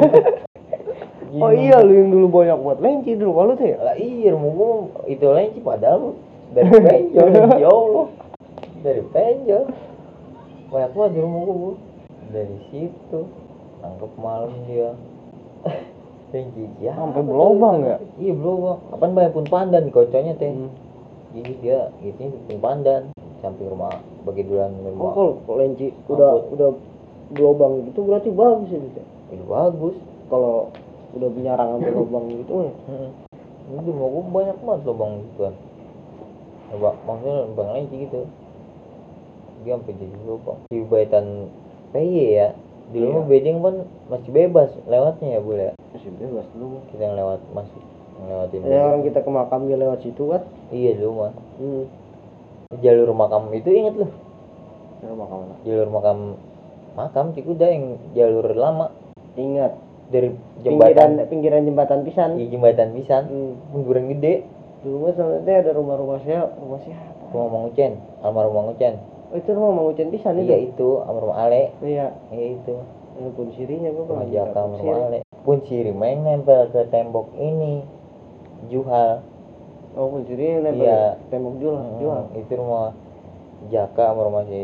Speaker 2: Oh iya, lu yang dulu banyak buat lenci dulu kalau tuh ya?
Speaker 1: Lah iya, rumah gua itu lenci padahal dari penjol. Ya Allah. Dari penjol banyak banget di rumah gue. Dari situ nangkep malam dia. Lenci ya
Speaker 2: sampai berlobang ya?
Speaker 1: Iya berlobang. Apaan banyak pun pandan di kocoknya teh. Jadi dia gitu pun pandan samping rumah bagi duluan rumah.
Speaker 2: Kalau lenci udah berlobang gitu berarti bagus ya gitu.
Speaker 1: Itu bagus
Speaker 2: kalau udah penyarangan berlobang gitu ya.
Speaker 1: Itu mau gue banyak banget lubang gitu kan. Maksudnya lubang lenci gitu. Dia sampai jadi lubang di baitan PY ya dulu mah bedeng kan masih bebas lewatnya ya boleh
Speaker 2: masih bebas dulu
Speaker 1: kita yang lewat masih ngelewatin
Speaker 2: orang kita ke makam dia lewat situ kan.
Speaker 1: Iya dulu mah jalur makam itu inget loh jalur makam Cikuda yang jalur lama
Speaker 2: ingat
Speaker 1: dari jembatan
Speaker 2: pinggiran jembatan pisan.
Speaker 1: Iya jembatan pisan pinggiran gede
Speaker 2: dulu mah sebenarnya ada rumah siapa
Speaker 1: Mang Ucen almarhum Mang Ucen.
Speaker 2: Oh itu rumah Mang Ucen pisan itu?
Speaker 1: Iya itu almarhum Ale.
Speaker 2: Iya
Speaker 1: itu
Speaker 2: pun sirinya gue
Speaker 1: pernah jaka almarhum Ale pun siri main nempel ke tembok ini Juhal.
Speaker 2: Oh pun siri nempel tembok Juhal
Speaker 1: itu rumah jaka almarhum si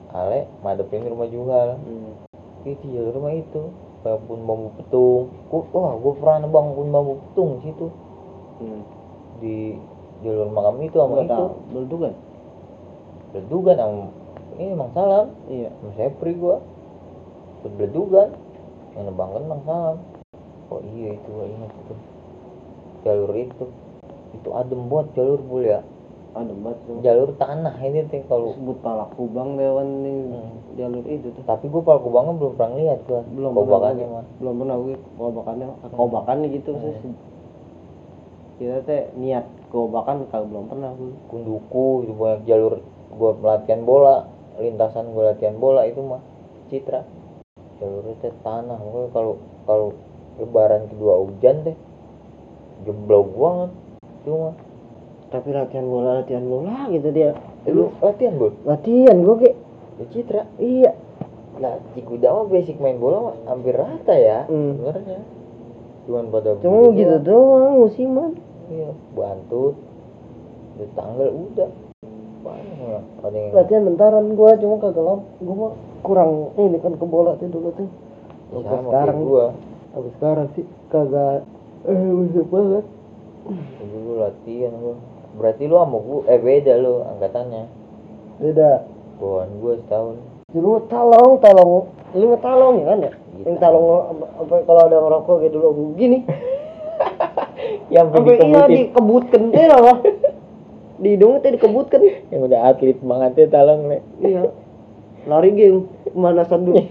Speaker 1: Ale madepin rumah Juhal. Itu jalur rumah itu kebun bambu petung. Gua pernah nebang kebun bambu petung di situ. Di jalur makam itu sama itu. Beledugan sama ini Mang Salam.
Speaker 2: Iya.
Speaker 1: Sama Sepri gua. Beledugan. Yang nebang kan Mang Salam. Oh iya itu gua ingat itu. Jalur itu adem buat jalur Bul ya.
Speaker 2: Adem banget tuh.
Speaker 1: Jalur tanah ini teh kalau
Speaker 2: Sebut Palakubang dewan nih jalur itu tuh.
Speaker 1: tapi gua Palakubangnya belum pernah lihat gua.
Speaker 2: Belum
Speaker 1: Kobakannya mah.
Speaker 2: Belum pernah gue kobakannya gitu sih. Kita teh niat kobakan kagak belum pernah gue.
Speaker 1: Kunduku itu banyak jalur gua latihan bola, lintasan gua latihan bola itu mah Citra. Jalurnya teh tanah, pokoknya kalau lebaran kedua hujan teh jeblok banget itu mah.
Speaker 2: Tapi latihan bola gitu dia.
Speaker 1: Lu latihan Bul?
Speaker 2: Latihan gue kayak
Speaker 1: Ya Citra.
Speaker 2: iya.
Speaker 1: Nah, Cikuda mah basic main bola mah hampir rata ya sebenarnya. Cuman pada
Speaker 2: Cuma gitu doang musiman.
Speaker 1: Iya, bantut. Di tanggal udah. Banyak lah. Ada yang
Speaker 2: Latihan bentaran gua cuma kagak gua mah kurang ini kan ke bola tuh dulu tuh.
Speaker 1: sama
Speaker 2: Sekarang
Speaker 1: kayak gua.
Speaker 2: Tapi sekarang sih kagak usah banget.
Speaker 1: Dulu latihan gua. Berarti lu sama gua beda lu angkatannya.
Speaker 2: Beda.
Speaker 1: Bawaan gua setahun.
Speaker 2: Dulu talong. Lu mah talong ya kan ya?
Speaker 1: Gitu.
Speaker 2: Yang talong apa kalau ada ngerokok kayak dulu gini.
Speaker 1: Yang
Speaker 2: Sampai iya dikebutkan deh lah. Di hidung teh dikebutkan.
Speaker 1: Yang udah atlet banget ya talong nih.
Speaker 2: Iya. Lari game pemanasan dulu.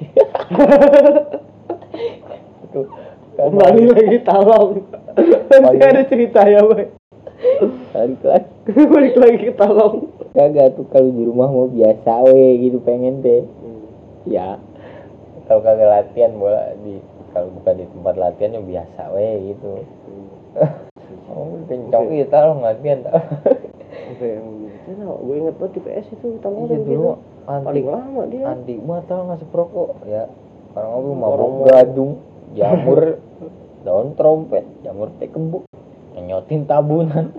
Speaker 1: Tuh.
Speaker 2: Kembali lagi talong. Nanti ada cerita ya, Boy. Balik lagi ke talong.
Speaker 1: Kagak tuh kalau di rumah mau biasa gitu pengen deh. Ya. Kalau kagak latihan bola kalau bukan di tempat latihan yang biasa gitu. Oh, kencang itu talong latihan.
Speaker 2: Oke, gue inget banget di PS itu talong
Speaker 1: Iya dulu
Speaker 2: paling lama dia.
Speaker 1: Anti mah talong ngasih perokok ya. Orang ngopi mabok gadung, jamur, daun trompet, jamur teh kembuk, nyotin tabunan.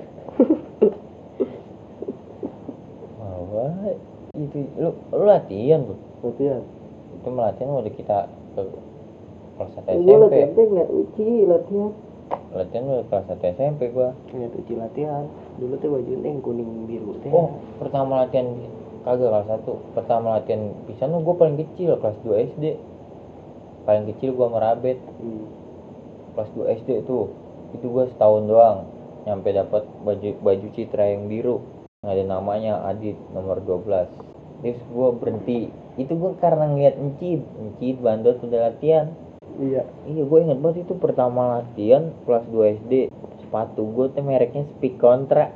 Speaker 1: Itu lu latihan tuh.
Speaker 2: Latihan.
Speaker 1: Itu latihan udah kita ke kelas 1 SMP.
Speaker 2: Gue latihan ngeliat Uci latihan.
Speaker 1: Latihan udah kelas 1 SMP gua.
Speaker 2: Ngeliat Uci latihan. Dulu tuh baju yang kuning biru teh.
Speaker 1: Oh, pertama latihan kagak kelas 1. Pertama latihan pisan gua paling kecil kelas 2 SD. Paling kecil gua merabet. Kelas 2 SD tuh. Itu gua setahun doang nyampe dapat baju Citra yang biru. Ada namanya Adit nomor 12. Terus gua berhenti. Itu gua karena ngeliat Encid bandot udah latihan. Iya, gua ingat banget itu pertama latihan kelas 2 SD. Sepatu gua tuh mereknya Speak Contra.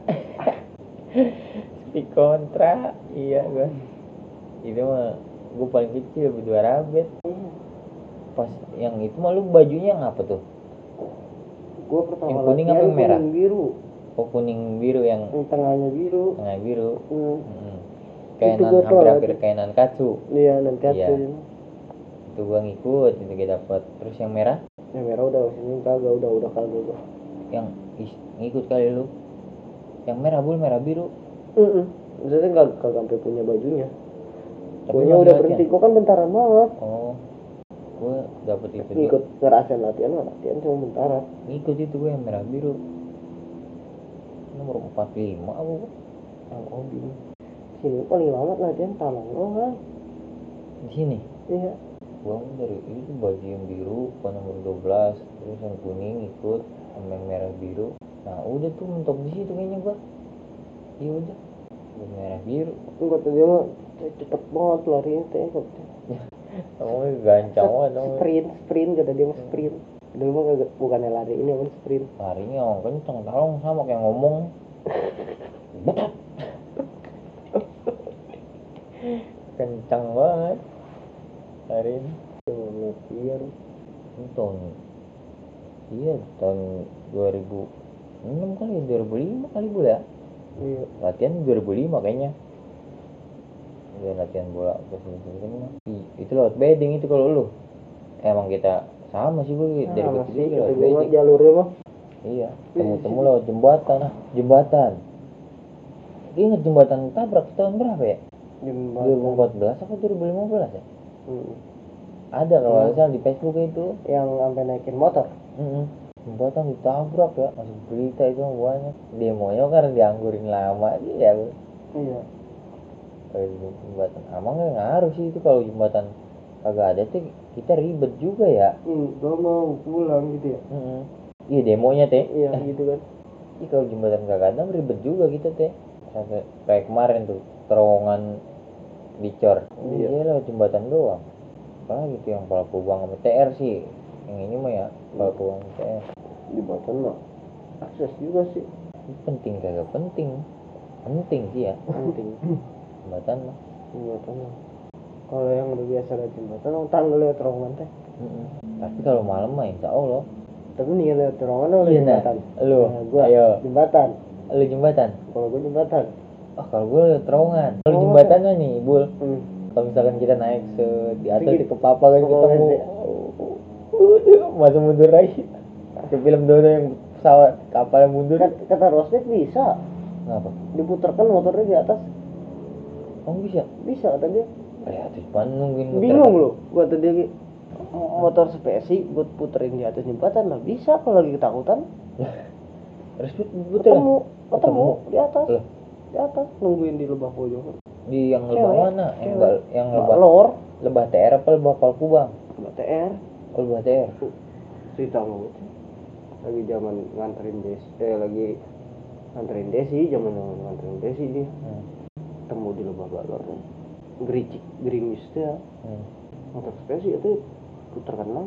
Speaker 1: Speak Contra. Iya gua. Itu mah gua paling kecil berdua rabet. Pas yang itu mah lu bajunya yang apa tuh?
Speaker 2: Gua pertama
Speaker 1: yang kuning apa yang merah?
Speaker 2: Kuning biru.
Speaker 1: Oh, kuning biru yang
Speaker 2: tengahnya biru.
Speaker 1: Tengah biru. Kainan hampir kainan katsu.
Speaker 2: Iya, nan katsu. Iya.
Speaker 1: Itu gua ngikut itu kita dapat. Terus yang merah?
Speaker 2: Yang merah udah sini kagak udah kagak gua.
Speaker 1: Yang ngikut kali lu. Yang merah merah biru.
Speaker 2: Maksudnya kagak sampai punya bajunya. Tapi udah berhenti, gua kan bentaran banget.
Speaker 1: Oh. Gua dapet itu
Speaker 2: ikut ngerasain latihan cuma bentaran.
Speaker 1: Ngikut itu gua yang merah biru. Nomor 45 aku.
Speaker 2: Oh, ini. Sini paling lama latihan talong doang.
Speaker 1: Di sini?
Speaker 2: Iya.
Speaker 1: Gua dari itu baju yang biru nomor 12, terus yang kuning ikut sama yang merah biru. Nah, udah tuh mentok di situ kayaknya gua. Iya udah. Gua merah biru.
Speaker 2: Enggak tuh dia mah cepet banget larinya teh.
Speaker 1: Oh, gancang banget.
Speaker 2: Sprint kata dia mah sprint. Dulu mah bukannya lari ini apa sprint.
Speaker 1: Larinya kenceng talong sama kayak ngomong. Betat. Kencang banget. Larinya.
Speaker 2: Latihan.
Speaker 1: Tahun 2006 kali 2005 kali gue ya.
Speaker 2: Iya.
Speaker 1: Latihan 2005 kayaknya. Udah latihan bola itu lewat bedding itu kalau lu. Emang kita sama sih gue dari kecil juga lewat bedding.
Speaker 2: Jalurnya mah.
Speaker 1: Iya, temu lewat jembatan. Ingat jembatan tabrak tahun berapa ya?
Speaker 2: Jembatan
Speaker 1: 2014 apa 2015 ya?
Speaker 2: Hmm.
Speaker 1: Ada kalau nggak salah di Facebook itu.
Speaker 2: Yang sampai naikin motor.
Speaker 1: Jembatan ditabrak ya, masuk berita itu banyak. Demonya karena dianggurin lama aja ya.
Speaker 2: Iya.
Speaker 1: Jembatan emang nggak ngaruh sih itu kalau jembatan kagak ada tuh kita ribet juga ya.
Speaker 2: Gak mau pulang gitu ya.
Speaker 1: Iya demonya teh.
Speaker 2: Iya gitu kan.
Speaker 1: Iya kalau jembatan kagak ada ribet juga kita teh. Sampai kayak kemarin tuh terowongan dicor.
Speaker 2: Iya.
Speaker 1: Iya lewat jembatan doang. Apalagi tuh yang Palau Kubang sama TR sih. Yang ini mah ya Palau Kubang sama TR.
Speaker 2: Jembatan mah akses juga sih.
Speaker 1: Penting kagak penting. Penting sih ya.
Speaker 2: Penting.
Speaker 1: Jembatan mah.
Speaker 2: Jembatan mah. Kalau yang udah biasa lewat jembatan, tanggal lewat terowongan teh.
Speaker 1: Tapi kalau malam mah insya Allah.
Speaker 2: Tapi nih lewat terowongan atau
Speaker 1: Iya,
Speaker 2: jembatan?
Speaker 1: lu,
Speaker 2: Gua
Speaker 1: ayo.
Speaker 2: jembatan.
Speaker 1: Lu jembatan.
Speaker 2: Kalau gua jembatan.
Speaker 1: Kalau gue lewat terowongan. Kalau
Speaker 2: Oh.
Speaker 1: jembatannya nih, Bul. Kalau misalkan kita naik di atas
Speaker 2: Sedikit.
Speaker 1: di kepala kan
Speaker 2: Oh,
Speaker 1: ketemu.
Speaker 2: iya.
Speaker 1: Masa mundur lagi. Ke film Dono yang pesawat kapal yang mundur.
Speaker 2: Kata Rosnet bisa
Speaker 1: Kenapa?
Speaker 2: diputarkan motornya di atas.
Speaker 1: Oh bisa.
Speaker 2: Bisa kata dia.
Speaker 1: Terus mana nungguin muter
Speaker 2: Bingung
Speaker 1: kan?
Speaker 2: loh. Gua tadi motor spesi buat puterin di atas jembatan lah bisa kalau lagi ketakutan.
Speaker 1: Terus puter
Speaker 2: Ketemu di atas.
Speaker 1: Loh.
Speaker 2: Di atas nungguin di lebah pojok.
Speaker 1: Di yang lebah
Speaker 2: Cewek.
Speaker 1: mana? Yang
Speaker 2: Mbak
Speaker 1: lebah
Speaker 2: Lor,
Speaker 1: lebah TR apa lebah Palau Kubang?
Speaker 2: Mbak TR.
Speaker 1: Oh, lebah TR.
Speaker 2: Cerita mau lagi zaman nganterin Desi, lagi nganterin Desi, zaman nganterin Desi dia ketemu di lebah balor, gericik gerimis tuh ya, motor spesi itu putarkan lang,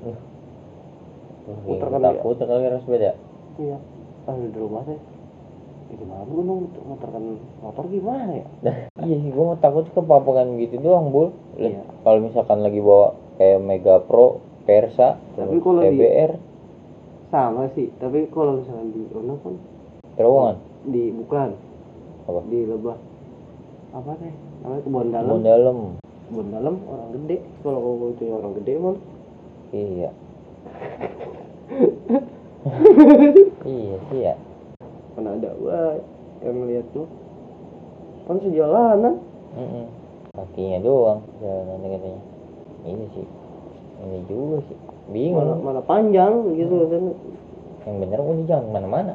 Speaker 2: putarkan dia,
Speaker 1: takut kali harus beda.
Speaker 2: iya, pas di rumah teh, gimana gue muterkan motor gimana ya?
Speaker 1: Iya sih, gue takut kepapakan gitu doang, Bul.
Speaker 2: Iya.
Speaker 1: Kalau misalkan lagi bawa kayak Mega Pro, Versa,
Speaker 2: Tapi kalau
Speaker 1: CBR,
Speaker 2: sama sih, tapi kalau misalnya di Ono kan
Speaker 1: terowongan,
Speaker 2: bukan
Speaker 1: apa?
Speaker 2: di lebah apa teh namanya kebun
Speaker 1: Kebun dalam.
Speaker 2: Kebun dalam orang gede, kalau itu orang gede mah
Speaker 1: Iya. Iya sih ya.
Speaker 2: kan ada gua yang ngeliat tuh kan sejalanan.
Speaker 1: Kakinya doang jalanan katanya. Ini sih, ini juga sih. Bingung.
Speaker 2: Mana panjang gitu kan.
Speaker 1: Yang bener udah jangan mana-mana.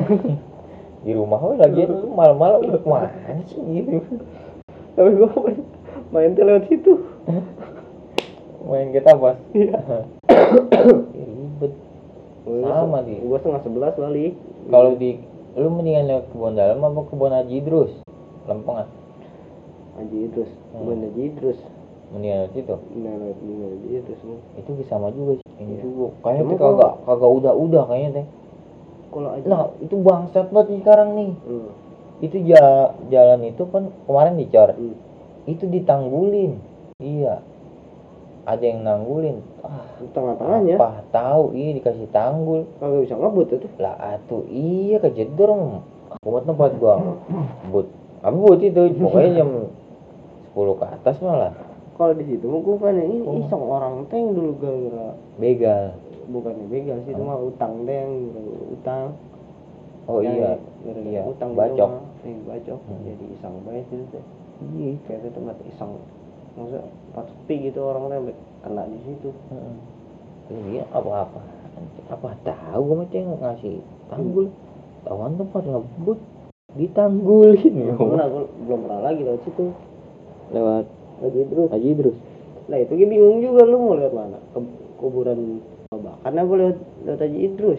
Speaker 1: Di rumah lagi malam-malam udah kemana sih gitu.
Speaker 2: Tapi gua main tuh lewat situ.
Speaker 1: Main kita pas.
Speaker 2: Iya.
Speaker 1: Ribet. Sama sih.
Speaker 2: Gua 10:30 balik.
Speaker 1: Kalau di lu mendingan lewat kebun dalam apa kebun Haji Idrus? Lempengan.
Speaker 2: Haji Idrus, kebun Haji Idrus.
Speaker 1: Mendingan lewat situ.
Speaker 2: Lewat Haji Idrus nih.
Speaker 1: Itu sama juga sih. Ini
Speaker 2: Iya.
Speaker 1: juga. Kayaknya
Speaker 2: Cuma
Speaker 1: tuh kagak udah kayaknya teh.
Speaker 2: Kalau aja.
Speaker 1: Nah, itu bangsat banget nih sekarang nih.
Speaker 2: Hmm.
Speaker 1: Itu jalan itu kan kemarin dicor. Itu ditanggulin. Iya. Ada yang nanggulin.
Speaker 2: Tengah-tengahnya.
Speaker 1: Apa tahu iya dikasih tanggul.
Speaker 2: Kagak bisa ngebut itu.
Speaker 1: Lah atuh iya kejedor. Kumat tempat gua. But. Apa but itu? Pokoknya jam 10 ke atas malah.
Speaker 2: Kalau di situ mah bukan ini iseng orang teh yang dulu gara-gara
Speaker 1: Begal.
Speaker 2: bukannya begal sih itu mah utang deh utang.
Speaker 1: Oh iya.
Speaker 2: Gara-gara
Speaker 1: Iya.
Speaker 2: utang
Speaker 1: Bacok.
Speaker 2: Bacok. Jadi iseng banget itu teh.
Speaker 1: Iya.
Speaker 2: Kayak itu tempat iseng. Maksudnya pas sepi gitu orang teh kena di situ.
Speaker 1: Iya apa-apa. Apa tahu gua mah ceng ngasih tanggul. Tawan tempat ngebut ditanggulin.
Speaker 2: Gua belum pernah lagi lewat situ.
Speaker 1: Lewat Haji Idrus.
Speaker 2: Nah itu gue bingung juga lu mau lewat mana? Kuburan karena gue lewat Haji Idrus.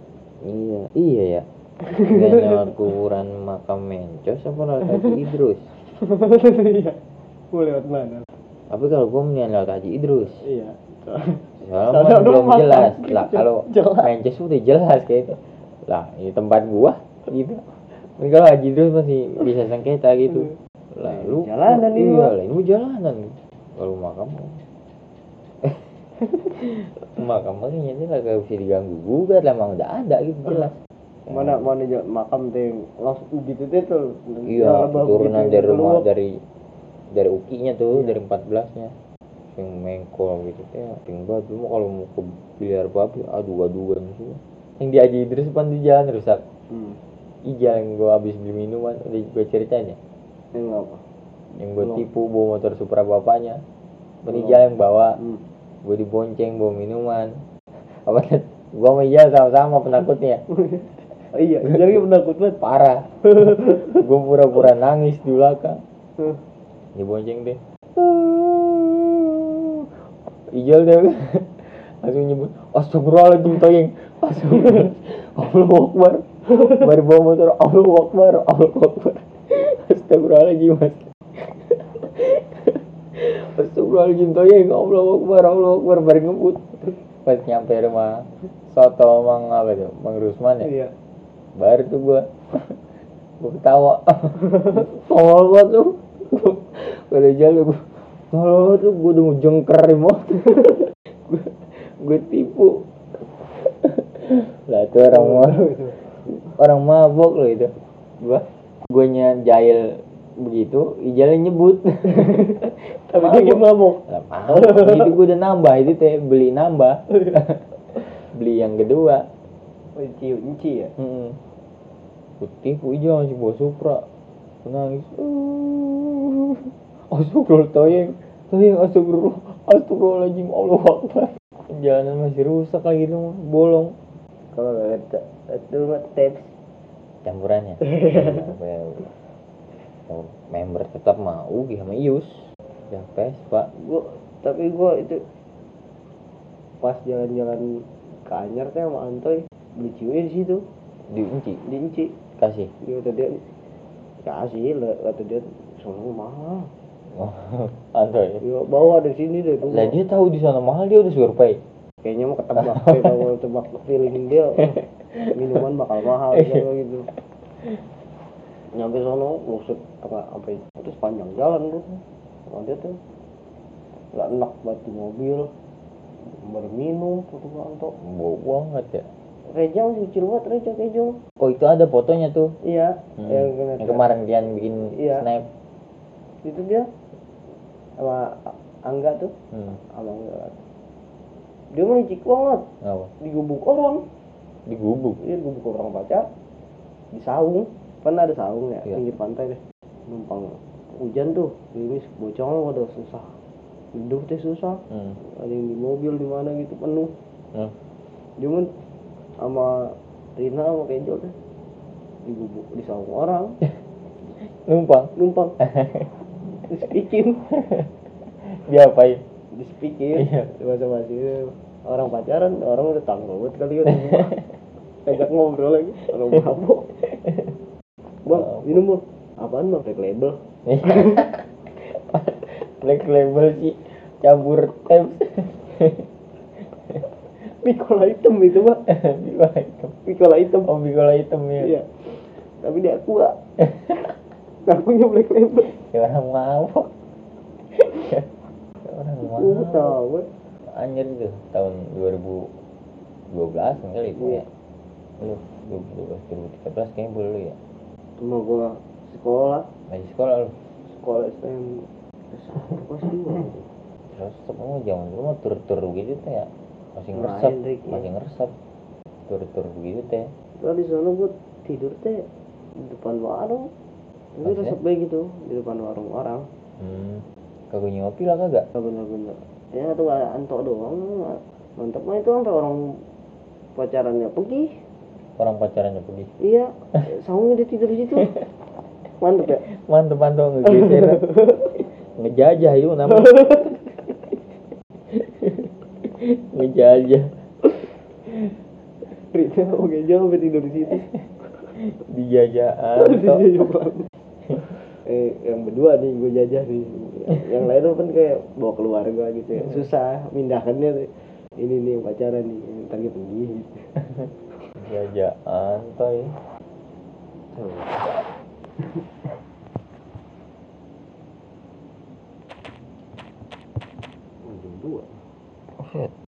Speaker 1: Iya ya. Nggak lewat kuburan makam Mencos apa lewat Haji Idrus?
Speaker 2: Iya. Mau lewat mana?
Speaker 1: Tapi kalau gua mendingan lewat Haji Idrus.
Speaker 2: Iya.
Speaker 1: Soalnya kan belum jelas. Lah kalau
Speaker 2: Jelas.
Speaker 1: Mencos udah jelas kayak itu. Lah ini tempat gua gitu. Ini kalau Haji Idrus masih bisa sengketa gitu. Lalu
Speaker 2: jalanan ini.
Speaker 1: Iya, lah ini jalanan. Kalau makam makam makanya ini lah gak bisa diganggu gugat lah emang udah ada gitu jelas.
Speaker 2: Mana makam teh langsung gitu deh tuh.
Speaker 1: Iya, turunan
Speaker 2: gitu,
Speaker 1: dari rumah
Speaker 2: keluar.
Speaker 1: dari ukinya tuh,
Speaker 2: Iya.
Speaker 1: dari 14-nya. Yang mengkol gitu teh. Tinggal dulu kalau mau ke biliar babi adu-aduan semua. Yang di Haji Idrus depan di jalan rusak. Ijal yang gua habis beli minuman udah gua ceritain ya.
Speaker 2: Yang apa?
Speaker 1: yang gue
Speaker 2: Belum.
Speaker 1: tipu bawa motor Supra bapaknya, Ijal yang bawa,
Speaker 2: Hmm.
Speaker 1: gue dibonceng bawa minuman. Apa gue sama Ijal sama-sama penakutnya,
Speaker 2: Oh, iya, jadi penakut banget.
Speaker 1: parah. Gue pura-pura nangis di belakang, dibonceng deh. Ijal deh langsung nyebut astagfirullahaladzim toyeng, astagfirullah, Allahu Akbar, baru bawa motor, Allahu Akbar, Allahu Akbar, astagfirullahaladzim mas, astagfirullahaladzim toyeng, Allahu Akbar, Allahu Akbar, baru ngebut. Pas nyampe rumah soto Mang apa tuh, Mang Rusman ya,
Speaker 2: Iya.
Speaker 1: baru tuh gue ketawa, tolol banget tuh, pada jalan gue, tolol tuh gue udah mau jengker remote, gue tipu, lah itu orang mabok loh itu, gue jahil begitu, Ijalnya nyebut,
Speaker 2: Tapi dia mabok.
Speaker 1: lah mabok, itu gue udah nambah itu teh, beli nambah, beli yang kedua.
Speaker 2: Inci ya.
Speaker 1: Gue tipu Ijal masih bawa Supra, gue nangis, astagfirullah toyeng, astagfirullahaladzim, Allahu Akbar. Jalanan masih rusak lagi tuh, bolong.
Speaker 2: Kalau itu mah tips.
Speaker 1: Campurannya. Member tetap mau Ugi sama Ius. Ya Vespa.
Speaker 2: Tapi gua itu pas jalan-jalan ke Anyar teh sama Antoy beli ciwi di situ.
Speaker 1: Di Inci.
Speaker 2: Di Inci.
Speaker 1: Kasih.
Speaker 2: Dia kata dia kasih lah, kata dia soalnya mahal.
Speaker 1: Oh, Antoy.
Speaker 2: Dia bawa dari sini deh.
Speaker 1: Lah dia tahu di sana mahal, dia udah survei.
Speaker 2: Kayaknya mau ketebak deh, kalau tebak feeling dia minuman bakal mahal gitu. Nyampe sono buset sampai itu sepanjang jalan tuh. Sama dia tuh nggak enak buat di mobil, berminum foto Anto.
Speaker 1: Bau banget ya.
Speaker 2: Reja masih kecil banget, Reja kejo.
Speaker 1: Oh itu ada fotonya tuh.
Speaker 2: Iya,
Speaker 1: Yang kemarin Dian bikin
Speaker 2: Iya.
Speaker 1: snap.
Speaker 2: Itu dia sama Angga tuh, sama Angga. Dia mah licik banget,
Speaker 1: Apa?
Speaker 2: digubuk orang.
Speaker 1: Digubuk.
Speaker 2: Iya, digubuk orang pacar. Di saung, kan ada saung ya,
Speaker 1: Iya.
Speaker 2: pinggir pantai deh. Numpang hujan tuh, gerimis, bocong pada susah. Hidup teh susah. Ada yang di mobil di mana gitu penuh. Cuman sama Rina sama Kenjo teh digubuk di saung orang. Numpang. Dispikin.
Speaker 1: Dia apain?
Speaker 2: Dispikin.
Speaker 1: Iya.
Speaker 2: Bahasa-bahasa orang pacaran, orang udah tanggung banget kali kan. Ajak ngobrol lagi, orang mabuk. Bang, minum bang. Apaan bang? Black label.
Speaker 1: Black label sih, campur tem.
Speaker 2: Pikola hitam itu bang. Pikola hitam.
Speaker 1: Oh, bikola hitam ya.
Speaker 2: Iya. Tapi dia aqua. Ngakunya black label.
Speaker 1: Ya orang mabok. Orang mabok.
Speaker 2: Tahu.
Speaker 1: Anjir itu tahun 2012 kali itu ya. Lu 2012 2013 kayaknya boleh lu ya.
Speaker 2: Cuma gua sekolah
Speaker 1: Masih sekolah lu.
Speaker 2: STM kelas 2.
Speaker 1: Terus kamu zaman dulu mah tur-tur gitu teh ya. Masih
Speaker 2: Main,
Speaker 1: ngeresep,
Speaker 2: Rik, ya.
Speaker 1: masih ngeresep. Tur-tur begitu teh.
Speaker 2: Kalau di sana gua tidur teh di depan warung. Tapi
Speaker 1: Maksudnya?
Speaker 2: resep baik gitu di depan warung orang.
Speaker 1: Kagak ngopi lah kagak.
Speaker 2: Bener-bener. Ya tuh Anto doang. Mantap mah itu sampai orang pacarannya pergi.
Speaker 1: Orang pacarannya pergi.
Speaker 2: Iya, saungnya dia tidur di situ. Mantap ya.
Speaker 1: Mantep ngegeser. Ngejajah itu namanya. Ngejajah.
Speaker 2: Rita oke jauh sampai tidur di situ.
Speaker 1: Dijajah Anto.
Speaker 2: Yang berdua nih gue jajah nih. Yang lain tuh kan kayak bawa keluarga gitu ya. Susah mindahkannya tuh. Ini nih yang pacaran nih, ntar dia pergi gitu.
Speaker 1: Jajah Anto ya.
Speaker 2: Jam 2.